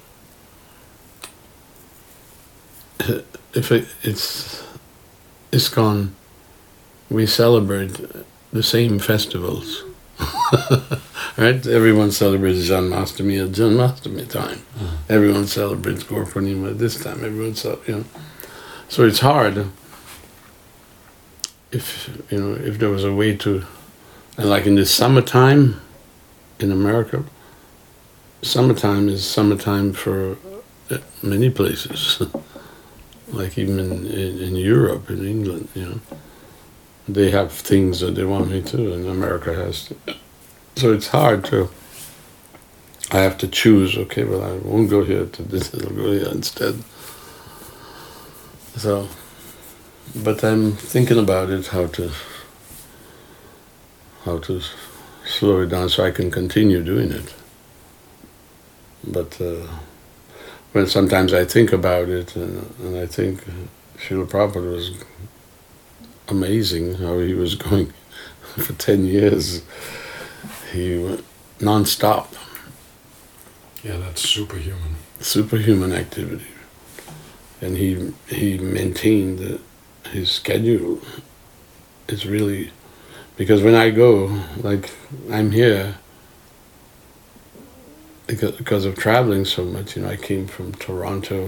if it, it's ISKCON, we celebrate the same festivals. Right? Everyone celebrates Janmashtami at Janmashtami time. Mm. Everyone celebrates Gaur Purnima at this time. Everyone, you know. So it's hard. If you know, if there was a way to, and like in the summertime, in America, summertime is summertime for many places. Like even in, in, in Europe, in England, you know, they have things that they want me to, and America has to. So it's hard to, I have to choose, okay, well, I won't go here to this, I'll go here instead. So, but I'm thinking about it, how to, how to slow it down so I can continue doing it. But uh, when sometimes I think about it, and, and I think Srila Prabhupada was amazing, how he was going for ten years. He went non-stop. Yeah, that's superhuman. Superhuman activity. And he he maintained the, his schedule. It's really, because when I go, like I'm here, because, because of traveling so much, you know, I came from Toronto.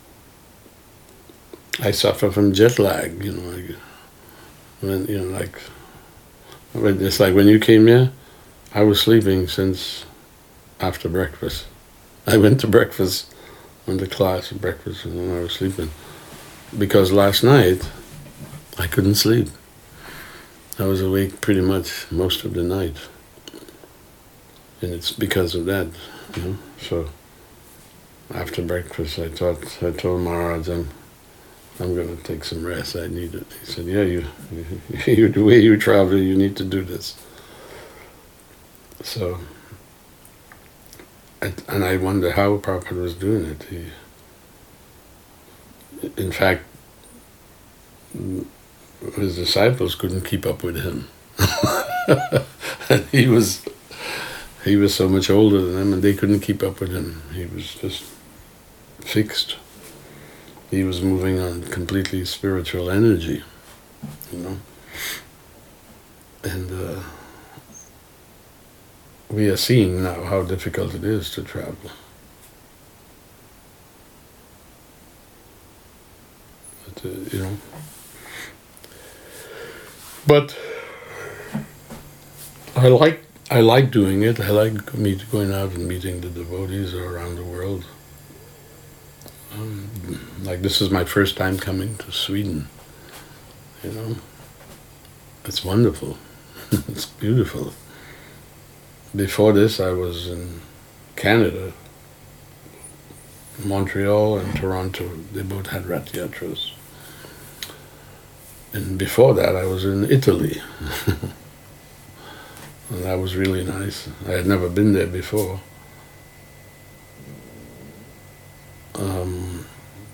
I suffer from jet lag, you know, like, when, you know, like, it's like when you came here, I was sleeping since after breakfast. I went to breakfast, went to class at breakfast, and then I was sleeping. Because last night, I couldn't sleep. I was awake pretty much most of the night. And it's because of that, you know. So, after breakfast, I thought, I told Maharaj, I'm, I'm going to take some rest, I need it. He said, yeah, you, you, the way you travel, you need to do this. So, and I wonder how Prabhupada was doing it. He, in fact, his disciples couldn't keep up with him. And he was, he was so much older than them, and they couldn't keep up with him. He was just fixed. he was moving on completely spiritual energy, you know. And uh, we are seeing now how difficult it is to travel. But, uh, you know. But I like I like doing it. I like meet, going out and meeting the devotees around the world. Um, like this is my first time coming to Sweden. You know, it's wonderful. It's beautiful. Before this, I was in Canada, Montreal and Toronto. They both had Rath Yatras. And before that, I was in Italy. And that was really nice. I had never been there before. Um,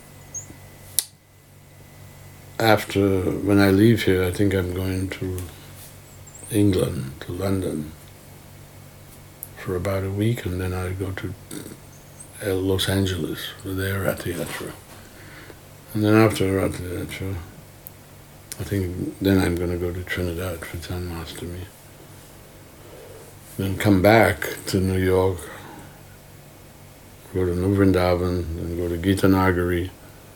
after, when I leave here, I think I'm going to England, to London, for about a week, and then I go to Los Angeles for their Rath Yatra. And then after Rath Yatra, I think then I'm going to go to Trinidad for Janmashtami. Then come back to New York, go to New Vrindavan, then go to Gita Nagari.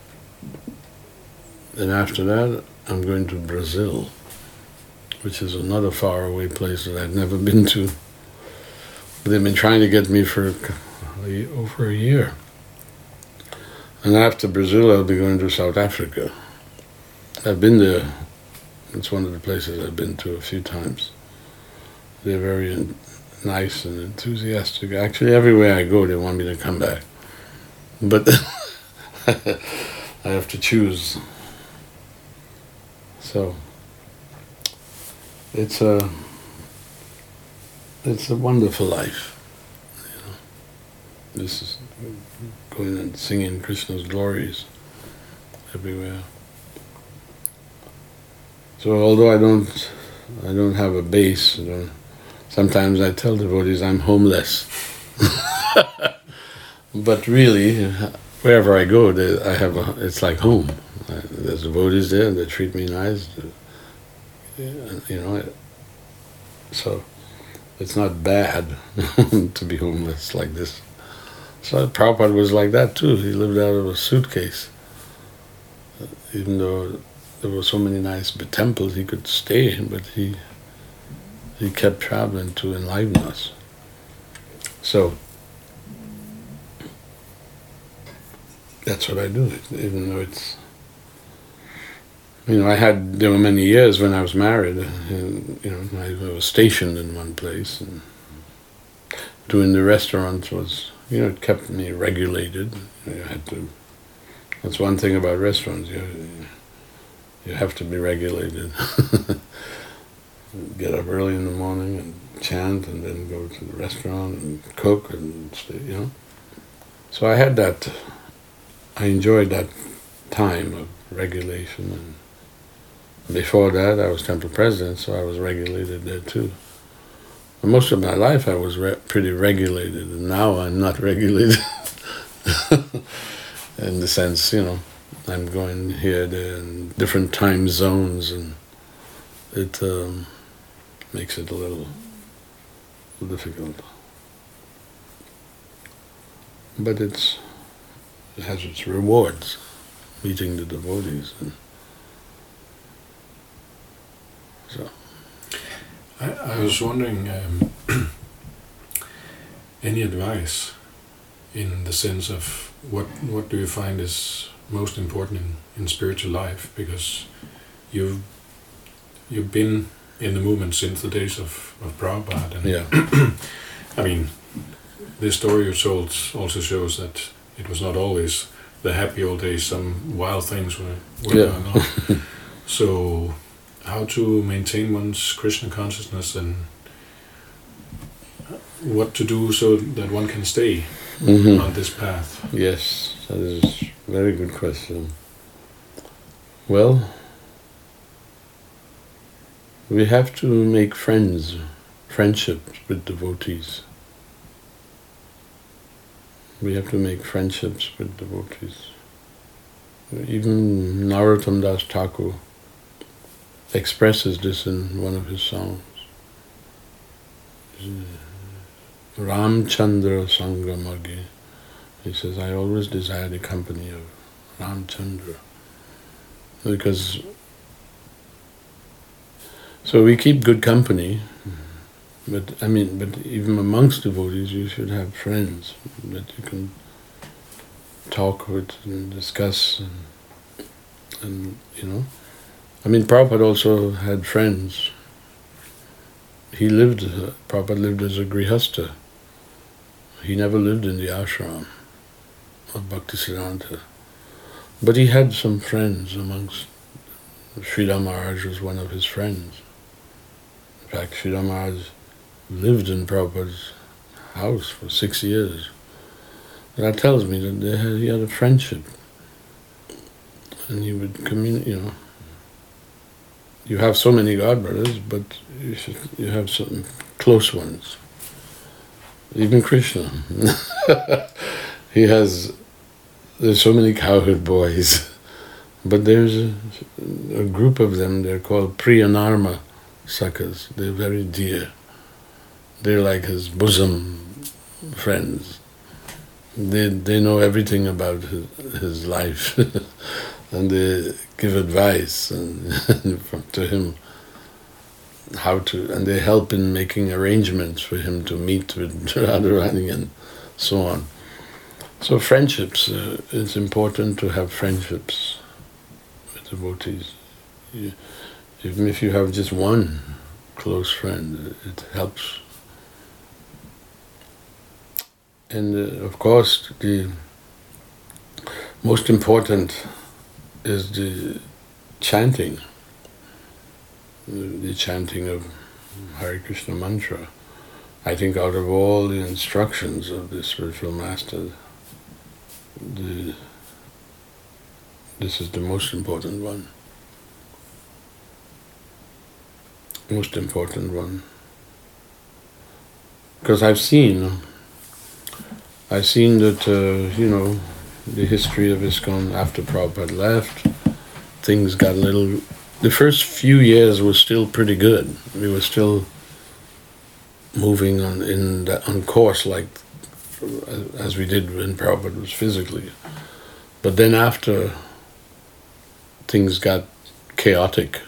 Then after that, I'm going to Brazil, which is another faraway place that I've never been to. But they've been trying to get me for over a year. And after Brazil, I'll be going to South Africa. I've been there. It's one of the places I've been to a few times. They're very nice and enthusiastic. Actually, everywhere I go, they want me to come back. But I have to choose. So it's a it's a wonderful life. You know, this is going and singing Krishna's glories everywhere. So although I don't I don't have a base, I don't, sometimes I tell devotees I'm homeless. But really, wherever I go, they, I have a, it's like home. I, there's devotees there, and they treat me nice. You know, so it's not bad to be homeless like this. So Prabhupada was like that too. He lived out of a suitcase. Even though there were so many nice temples he could stay in, but he he kept traveling to enliven us. So that's what I do, even though it's, you know, I had, there were many years when I was married, and, you know, I was stationed in one place, and doing the restaurants was, you know, it kept me regulated. You had to, that's one thing about restaurants, you, you have to be regulated. Get up early in the morning and chant, and then go to the restaurant and cook and stay, you know. So I had that, I enjoyed that time of regulation, and before that I was temple president, so I was regulated there too. But most of my life I was re pretty regulated, and now I'm not regulated. In the sense, you know, I'm going here, there, in different time zones, and it um, makes it a little difficult. But it's it has its rewards, meeting the devotees. And so. I, I was wondering, um, any advice in the sense of what what do you find is most important in, in spiritual life? Because you've you've been in the movement since the days of, of Prabhupada. And yeah. I mean, the story you told also shows that it was not always the happy old days. Some wild things were, were yeah. going on. So how to maintain one's Krishna consciousness, and what to do so that one can stay Mm-hmm. on this path? Yes, that is a very good question. Well, we have to make friends, friendships with devotees. We have to make friendships with devotees. Even Narottam Das Thakur expresses this in one of his songs. Ramchandra Sangramagi. He says, I always desire the company of Ramchandra. Because, so we keep good company, but I mean, but even amongst devotees, you should have friends that you can talk with and discuss, and, and you know. I mean, Prabhupada also had friends. He lived, uh, Prabhupada lived as a grihastha. He never lived in the ashram of Bhaktisiddhanta. But he had some friends amongst, Sridhar Maharaj was one of his friends. In fact, Sridhar Maharaj lived in Prabhupada's house for six years. That tells me that they had, he had a friendship. And he would communicate, you know. You have so many God brothers, but you should, you have some close ones. Even Krishna. He has, there's so many cowherd boys, but there's a, a group of them, they're called Priyanarma Sakhas. They're very dear. They're like his bosom friends. They they know everything about his, his life, and they give advice and, to him how to, and they help in making arrangements for him to meet with Radharani and so on. So friendships, uh, it's important to have friendships with devotees. You, even if you have just one close friend, it helps. And uh, of course, the most important is the chanting, the, the chanting of Hare Krishna mantra. I think out of all the instructions of the spiritual master, the, this is the most important one. Most important one. Because I've seen, I've seen that, uh, you know, the history of ISKCON after Prabhupada left, things got a little, the first few years were still pretty good. We were still moving on in the, on course like as we did when Prabhupada was physically. But then after things got chaotic,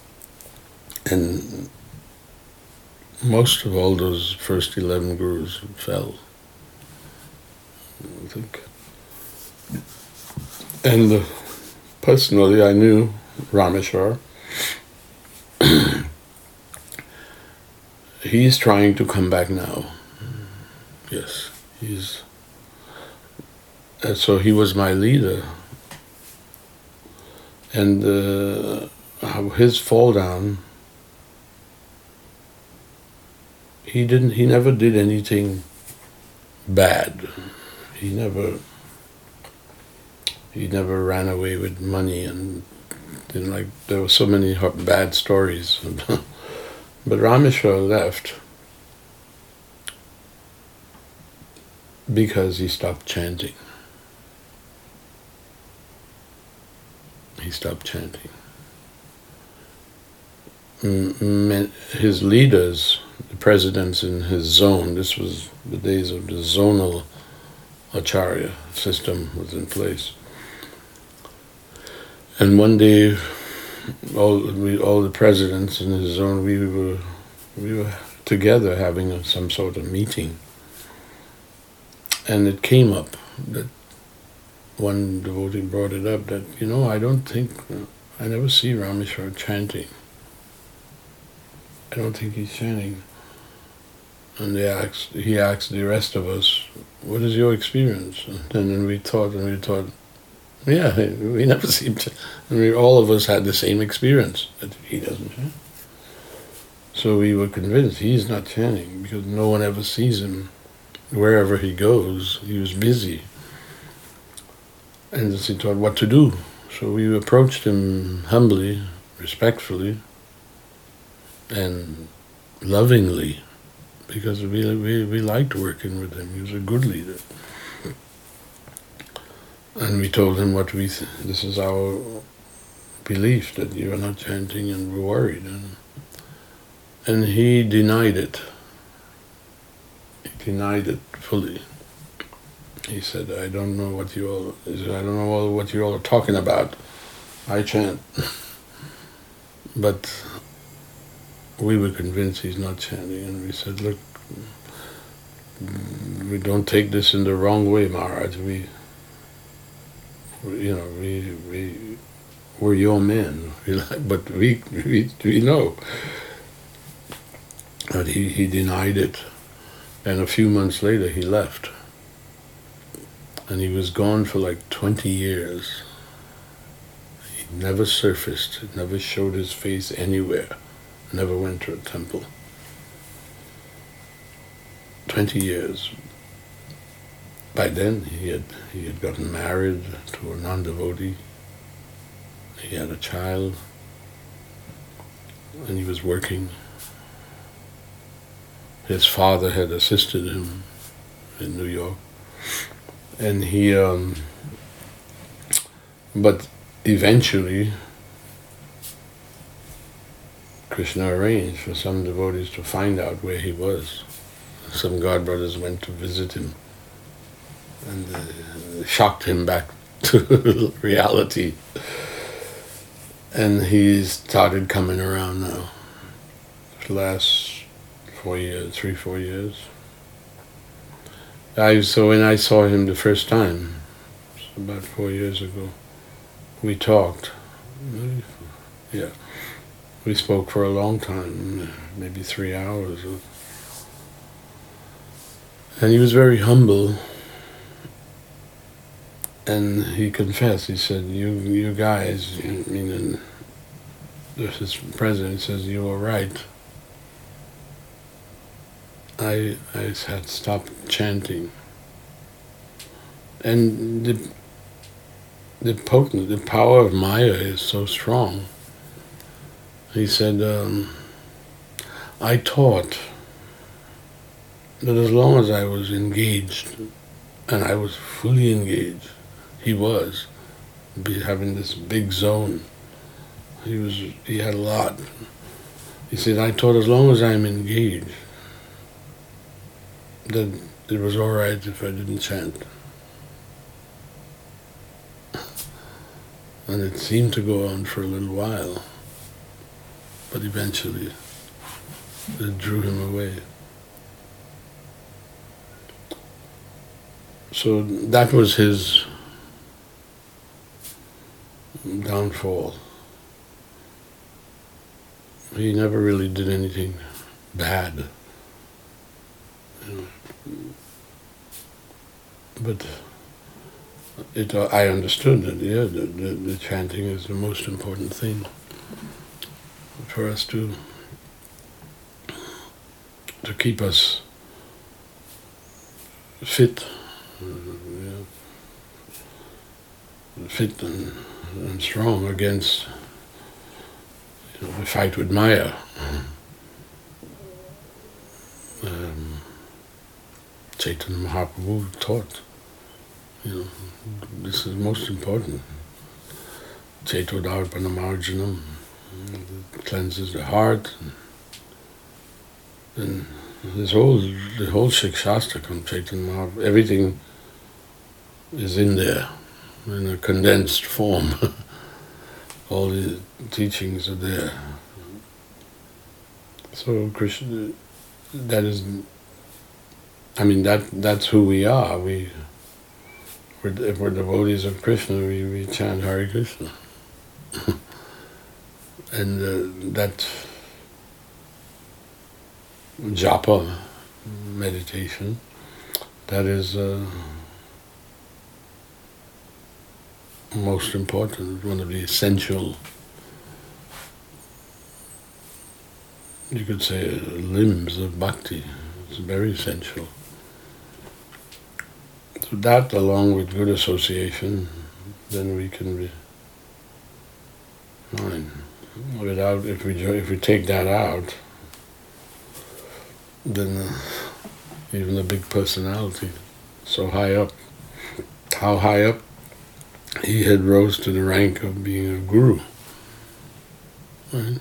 and most of all those first eleven gurus fell, I think. And uh, personally, I knew Rameshwar. He's trying to come back now. Yes, he's. And so he was my leader, and uh, his fall down. He didn't. He never did anything bad. He never. He never ran away with money, and didn't like. There were so many bad stories. But Rameshwar left because he stopped chanting. He stopped chanting. His leaders, the presidents in his zone, this was the days of the zonal acharya system was in place. And one day, all we, all the presidents in his zone, we were we were together having a, some sort of meeting, and it came up that one devotee brought it up that, you know, I don't think, I never see Rameshwar chanting. I don't think he's chanting. And they asked, he asked the rest of us, what is your experience? And then we thought, and we thought, yeah, we never seem to, and we, all of us had the same experience, that he doesn't chant. So we were convinced he's not chanting, because no one ever sees him. Wherever he goes, he was busy. And he thought what to do. So we approached him humbly, respectfully, and lovingly, because we, we, we liked working with him. He was a good leader. And we told him what we, th- this is our belief, that you are not chanting, and we're worried. And, and he denied it. He denied it fully. He said, I don't know what you all, he said, I don't know all what you all are talking about. I chant. But we were convinced he's not chanting, and we said, look, we don't take this in the wrong way, Maharaj. We, you know, we, we, we're your men, but we, we, we know. But he, he denied it, and a few months later he left. And he was gone for like twenty years. He never surfaced, never showed his face anywhere, never went to a temple. Twenty years. By then he had he had gotten married to a non-devotee. He had a child, and he was working. His father had assisted him in New York, and he. Um, but eventually, Krishna arranged for some devotees to find out where he was. Some God brothers went to visit him, and uh, shocked him back to reality. And he started coming around now. The last four years, three, four years. I so when I saw him the first time, about four years ago, we talked. Yeah, we spoke for a long time, maybe three hours. And he was very humble. And he confessed. He said, "You, you guys, I mean, this president says you were right. I, I had stopped chanting, and the, the potent, the power of Maya is so strong." He said, um, "I taught that as long as I was engaged, and I was fully engaged." He was be having this big zone. He was. He had a lot. He said, "I taught as long as I'm engaged, that it was all right if I didn't chant." And it seemed to go on for a little while, but eventually it drew him away. So that was his downfall. He never really did anything bad. You know. But it, uh, I understood that, yeah, the, the, the chanting is the most important thing for us to to keep us fit, uh, yeah, fit and, and strong against, you know, the fight with Maya. Um, Chaitanya Mahaprabhu taught, you know, this is most important. Chaitodarpana marjanam, it cleanses the heart. And this whole, the whole Shikshastra from Chaitanya Mahaprabhu, everything is in there, in a condensed form. All the teachings are there. So Krishna, that is, I mean, that that's who we are. We, we're, if we're devotees of Krishna, we, we chant Hare Krishna. And uh, that japa, meditation, that is uh, most important, one of the essential, you could say, limbs of bhakti. It's very essential. So that, along with good association, then we can be fine. Without, if we if we take that out, then uh, even the big personality, so high up, how high up? he had rose to the rank of being a guru. Right?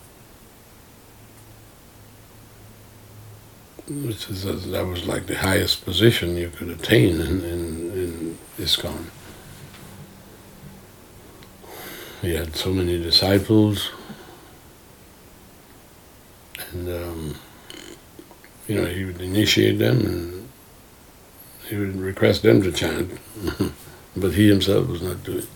Which is, that was like the highest position you could attain in, in, in ISKCON. He had so many disciples, and um, you know, he would initiate them and he would request them to chant, but he himself was not doing it.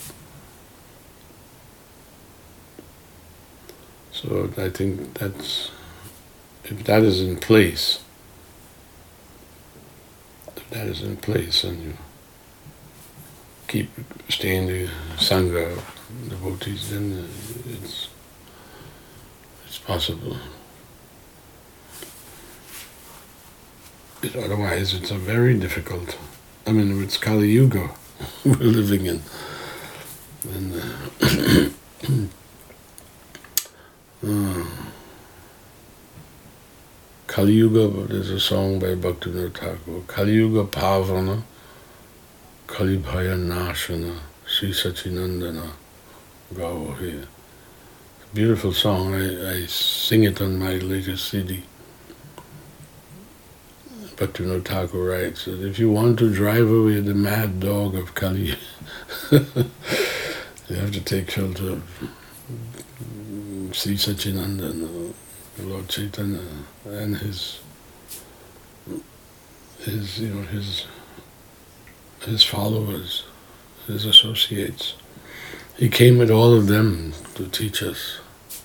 So I think that's, if that is in place, if that is in place and you keep staying the Sangha of devotees, then it's, it's possible. It, otherwise it's a very difficult, I mean, it's Kali Yuga we're living in. And, uh, uh, Kali Yuga, there's a song by Bhaktivinoda Thakur, Kali Yuga Pavana, Kali Bhaya Nashana, Sri Sachinandana, Gao here. Beautiful song, I, I sing it on my latest C D. Bhaktivinoda Thakur writes that if you want to drive away the mad dog of Kali, you have to take shelter of Sri Sachinandana, Lord Chaitanya, and his, his, you know, his, his followers, his associates. He came with all of them to teach us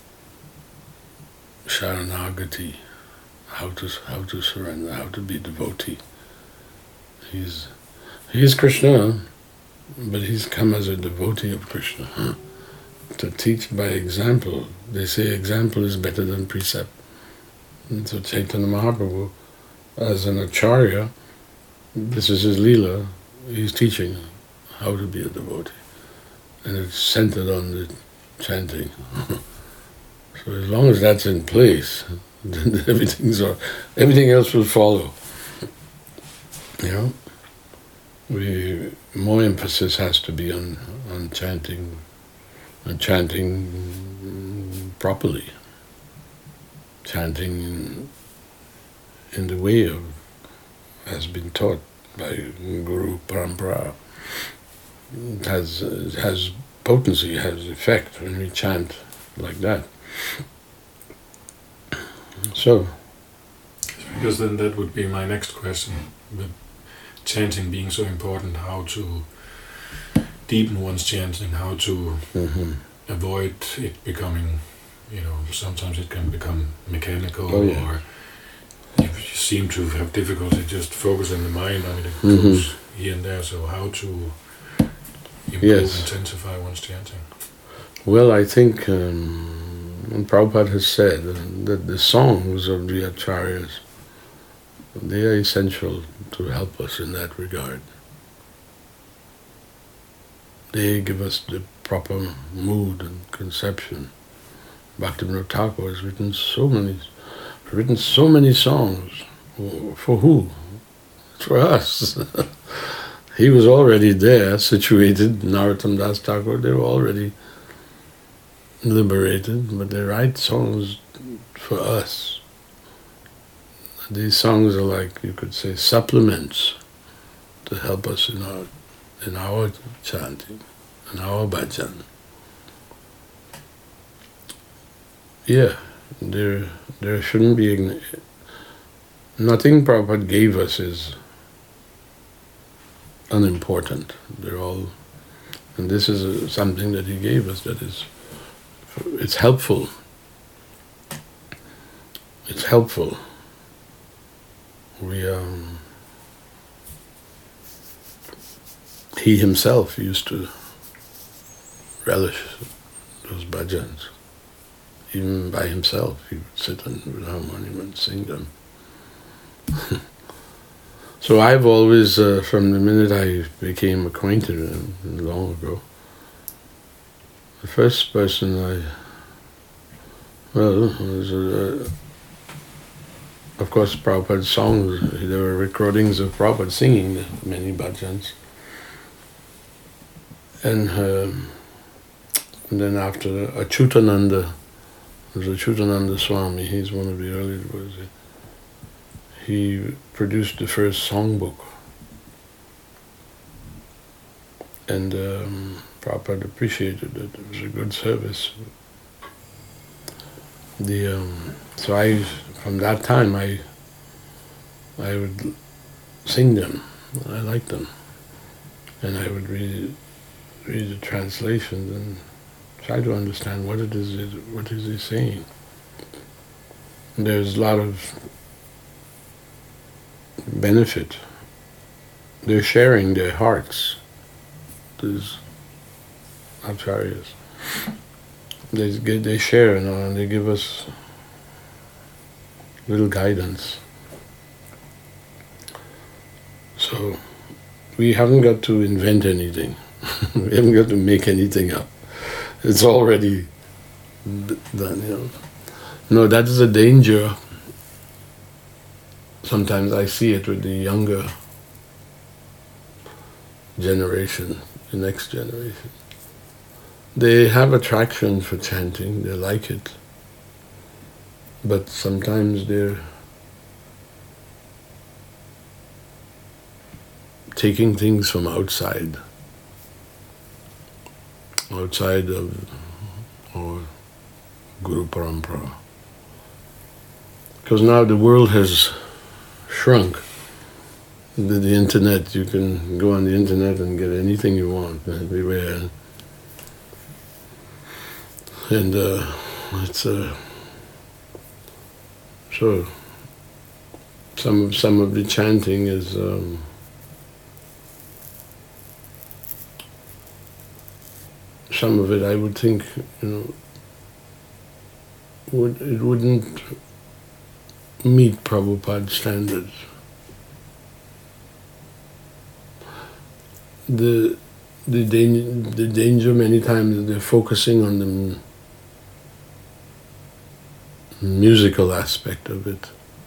Sharanagati, how to how to surrender, how to be devotee. He's he's Krishna, but he's come as a devotee of Krishna, huh? To teach by example. They say example is better than precept. And so Chaitanya Mahaprabhu, as an acharya, this is his leela, he's teaching how to be a devotee. And it's centered on the chanting. So as long as that's in place, then everything's all, everything else will follow. You know? We, more emphasis has to be on, on chanting, on chanting properly. Chanting in, in the way of, has been taught by Guru Parampara. It has, it has potency, has effect when we chant like that. So, because then that would be my next question. With chanting being so important, how to deepen one's chanting, how to mm-hmm. avoid it becoming, you know, sometimes it can become mechanical, oh, yeah. or you seem to have difficulty just focusing the mind. I mean, it mm-hmm. goes here and there. So how to improve, yes. intensify one's chanting? Well, I think um, Prabhupada has said that the songs of the acharyas, they are essential to help us in that regard. They give us the proper mood and conception. Bhaktivinoda Thakur has written so many, written so many songs. For who? For us. He was already there, situated. Narottam Das Thakur, they were already liberated, but they write songs for us. These songs are like, you could say, supplements to help us in our in our chanting, in our bhajan. Yeah, there there shouldn't be nothing Prabhupada gave us is unimportant. They're all, and this is a, something that he gave us that is, it's helpful. It's helpful. We um, he himself used to relish those bhajans. Even by himself, he would sit and with harmonium and sing them. So I've always, uh, from the minute I became acquainted with him long ago, the first person I, well, was, uh, of course, Prabhupada's songs. There were recordings of Prabhupada singing many bhajans. And, um, and then after Achyutananda, there's Achyutananda Swami, he's one of the early devotees. He produced the first songbook. And um, Prabhupada appreciated it. It was a good service. The um, so I, from that time, I I would sing them. I liked them, and I would read read the translations and try to understand what it is. What is he saying? And there's a lot of benefit. They're sharing their hearts. These acharyas, they they share, you know, and they give us little guidance. So we haven't got to invent anything. We haven't got to make anything up. It's already done, you know. No, that is a danger. Sometimes I see it with the younger generation, the next generation. They have attraction for chanting, they like it. But sometimes they're taking things from outside, outside of or Guru Parampara. Because now the world has shrunk. The, the internet, you can go on the internet and get anything you want everywhere. And uh, it's uh, so some of some of the chanting is um, some of it I would think, you know, would it wouldn't meet Prabhupada's standards. The the danger the danger many times they're focusing on the musical aspect of it.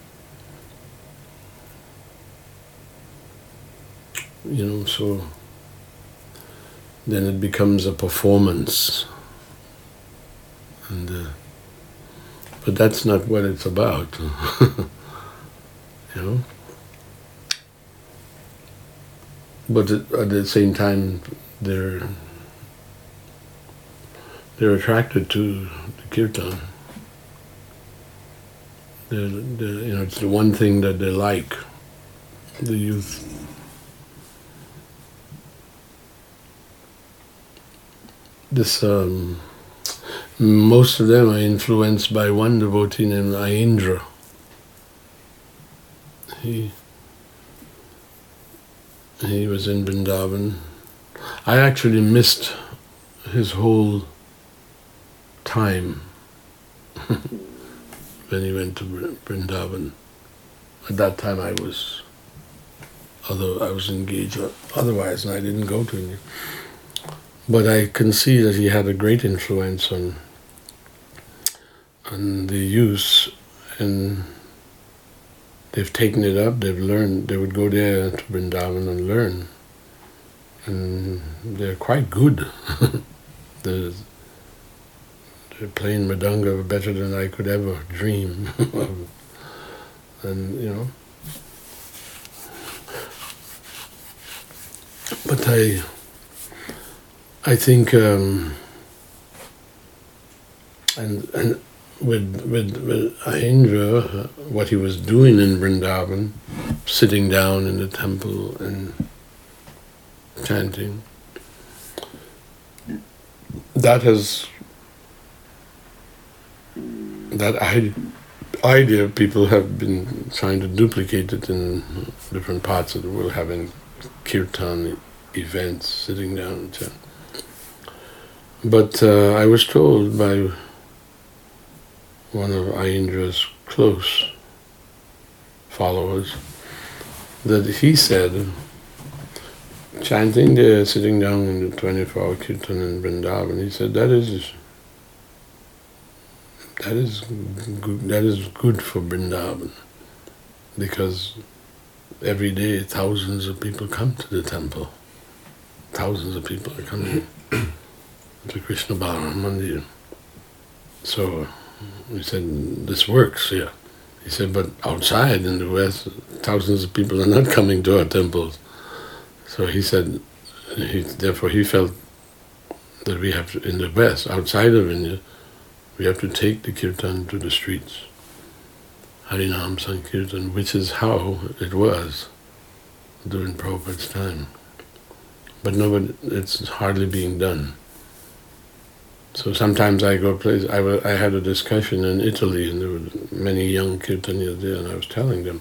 You know, so then it becomes a performance. And uh, but that's not what it's about. You know? But at the same time, they're they're attracted to the kirtan. They're, they're, you know, it's the one thing that they like, the youth. This um, most of them are influenced by one devotee named Ayendra. He he was in Vrindavan. I actually missed his whole time when he went to Vrindavan. At that time I was, although I was engaged otherwise, and I didn't go to him. But I can see that he had a great influence on on the youth, and they've taken it up, they've learned, they would go there to Vrindavan and learn. And they're quite good. they're, they're playing Mridanga better than I could ever dream of. And, you know. But I, I think, um, and, and with, with, with Ayendra, what he was doing in Vrindavan, sitting down in the temple and chanting, that has, that idea people have been trying to duplicate it in different parts of the world, having kirtan events, sitting down and chanting. But uh, I was told by one of Ayendra's close followers that he said, chanting there, sitting down in the twenty-four hour kirtan in Vrindavan, he said that is that is good, that is good for Vrindavan, because every day thousands of people come to the temple thousands of people are coming to Krishna Balaram Mandir. So we said, this works, yeah. He said, but outside in the West, thousands of people are not coming to our temples. So he said, he, therefore he felt that we have to, in the West, outside of India, we have to take the kirtan to the streets. Harinam Sankirtan, which is how it was during Prabhupada's time. But nobody, it's hardly being done. So sometimes I go places, I, I had a discussion in Italy, and there were many young kirtanias there, and I was telling them,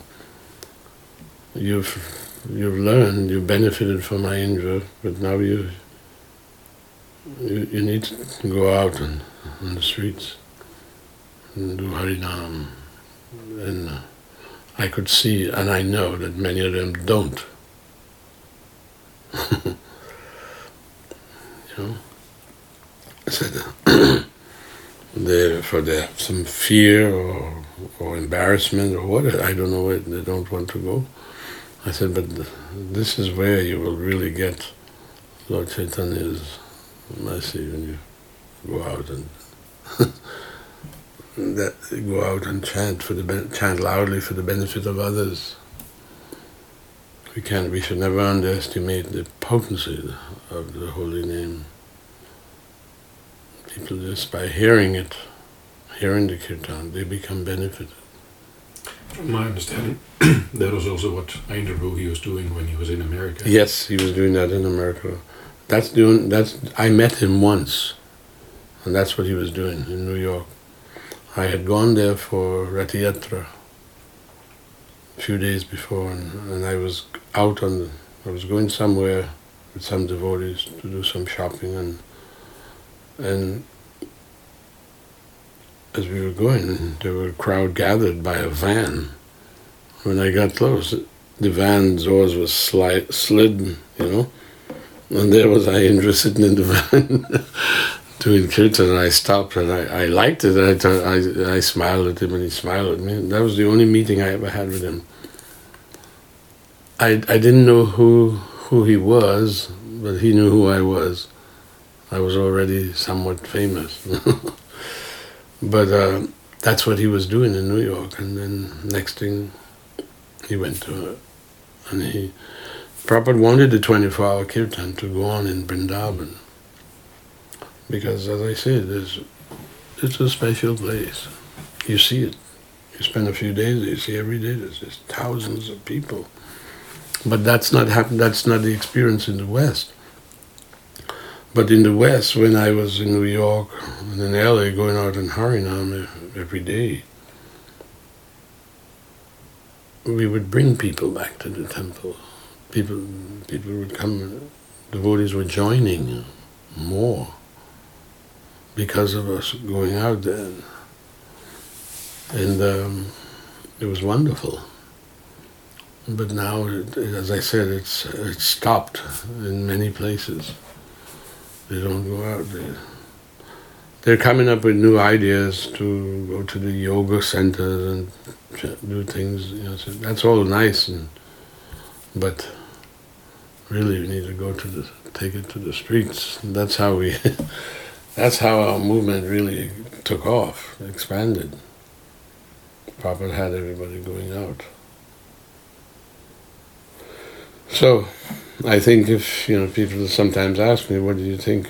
you've, you've learned, you've benefited from Indra, but now you, you, you need to go out on, on the streets and do Harinam. And uh, I could see, and I know that many of them don't. You know, I said uh, they for they have some fear or or embarrassment or what, I don't know where they don't want to go. I said, but this is where you will really get Lord Chaitanya's mercy when you go out and that go out and chant for the chant loudly for the benefit of others. We can we should never underestimate the potency of the holy name. People just by hearing it, hearing the kirtan, they become benefited. From my understanding, that was also what Indra he was doing when he was in America. Yes, he was doing that in America. That's doing that's I met him once, and that's what he was doing in New York. I had gone there for Rath Yatra a few days before, and, and I was out on the, I was going somewhere with some devotees to do some shopping, and and as we were going, there were a crowd gathered by a van. When I got close, the van doors was slid, slid, you know, and there was Indra sitting in the van doing kirtan, and I stopped, and I, I liked it, and I, thought, I I smiled at him, and he smiled at me. That was the only meeting I ever had with him. I I didn't know who who he was, but he knew who I was. I was already somewhat famous. But uh, that's what he was doing in New York, and then next thing, he went to, uh, and he, Prabhupada wanted the twenty-four hour kirtan to go on in Vrindavan, because as I said, it's, it's a special place. You see it. You spend a few days there, you see every day there's just thousands of people. But that's not happen. That's not the experience in the West. But in the West, when I was in New York and in L A going out in Harinam every day, we would bring people back to the temple. People, people would come, devotees were joining more because of us going out there. And um, it was wonderful. But now, it, as I said, it's it's stopped in many places. They don't go out there. They're coming up with new ideas to go to the yoga centers and do things. You know, so that's all nice, and but really, we need to go to the take it to the streets. And that's how we. That's how our movement really took off, expanded. Prabhupada had everybody going out. So, I think if, you know, people sometimes ask me, what do you think?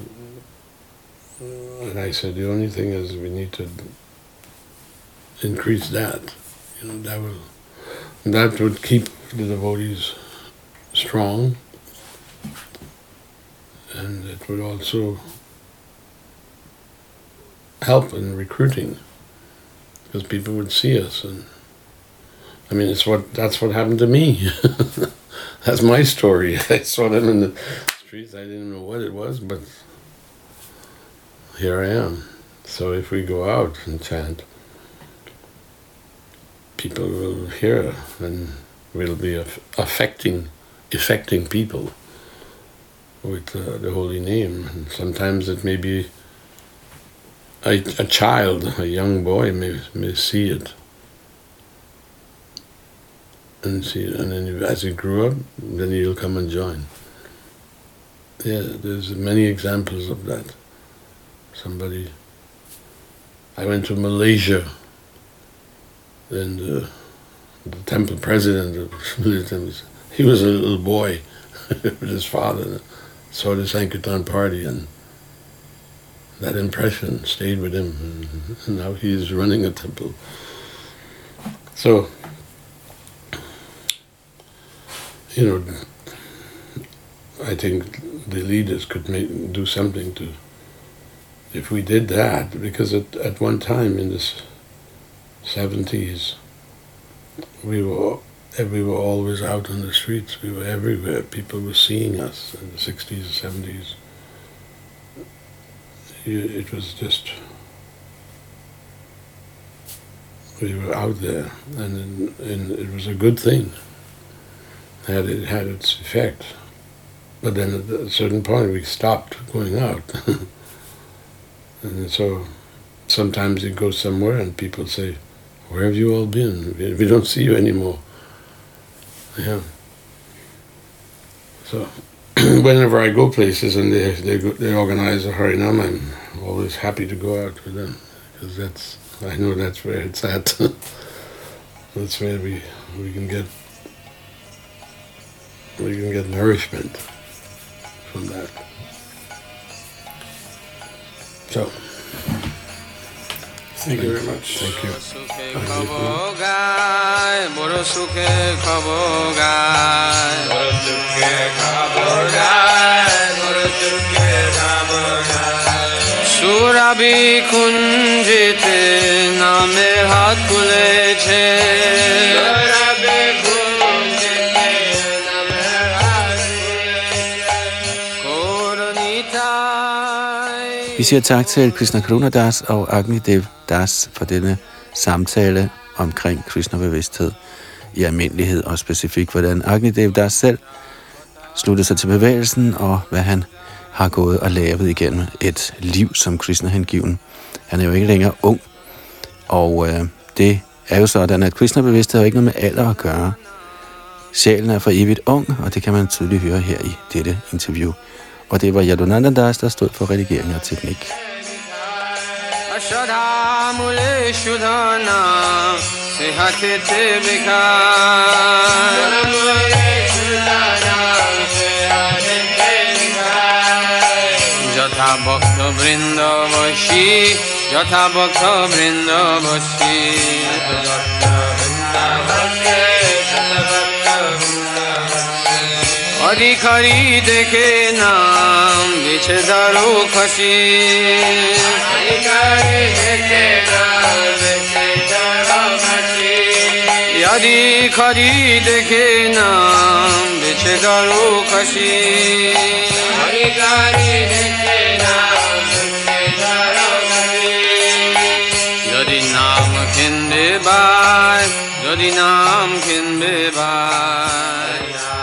And I said, the only thing is we need to increase that. You know, that will, that would keep the devotees strong, and it would also help in recruiting, because people would see us. And I mean, it's what that's what happened to me. That's my story. I saw them in the streets. I didn't know what it was, but here I am. So if we go out and chant, people will hear, and we'll be affecting, affecting people with uh, the holy name. And sometimes it may be a, a child, a young boy may may see it. And see, and then as he grew up, then he'll come and join. Yeah, there's many examples of that. Somebody, I went to Malaysia, and uh, the temple president of he was a little boy with his father, saw the Sankirtan party, and that impression stayed with him, and now he's running a temple. So, you know, I think the leaders could make, do something to, if we did that, because at, at one time in the seventies, we were we were always out on the streets. We were everywhere. People were seeing us in the sixties and seventies. It was just, we were out there, and, and it was a good thing. It had, it had its effect. But then at a certain point we stopped going out. And so sometimes you go somewhere and people say, "Where have you all been? We don't see you anymore." Yeah. So whenever I go places and they they, go, they organize a Harinam, I'm always happy to go out with them, because that's, I know that's where it's at. That's where we we can get we can get nourishment from that. So, thank you very much. Thank you. Surabhi kunjite name hat kuleche. Surabhi kunjite name hat kuleche. Vi siger tak til Krishna Karuna Das og Agnidev Das for denne samtale omkring Krishna-bevidsthed i almindelighed, og specifikt hvordan Agnidev Das selv sluttede sig til bevægelsen, og hvad han har gået og lavet igennem et liv som Krishna-hengiven. Han er jo ikke længere ung, og øh, det er jo sådan, at Krishna-bevidsthed har ikke noget med alder at gøre. Sjælen er for evigt ung, og det kan man tydeligt høre her i dette interview. Og det var Yadunanda Das, der stod for redigering og teknik. Jatha bhakta vrinda vashi, Jatha bhakta vrinda vashi, Adhikari dekhe naam biche daru khashi, Adhikari dekhe naam biche daru khashi, Adhikari dekhe naam biche daru khashi, Adhikari dekhe naam biche daru khashi. Jodi naam khinde bai, Jodi naam khinde bai.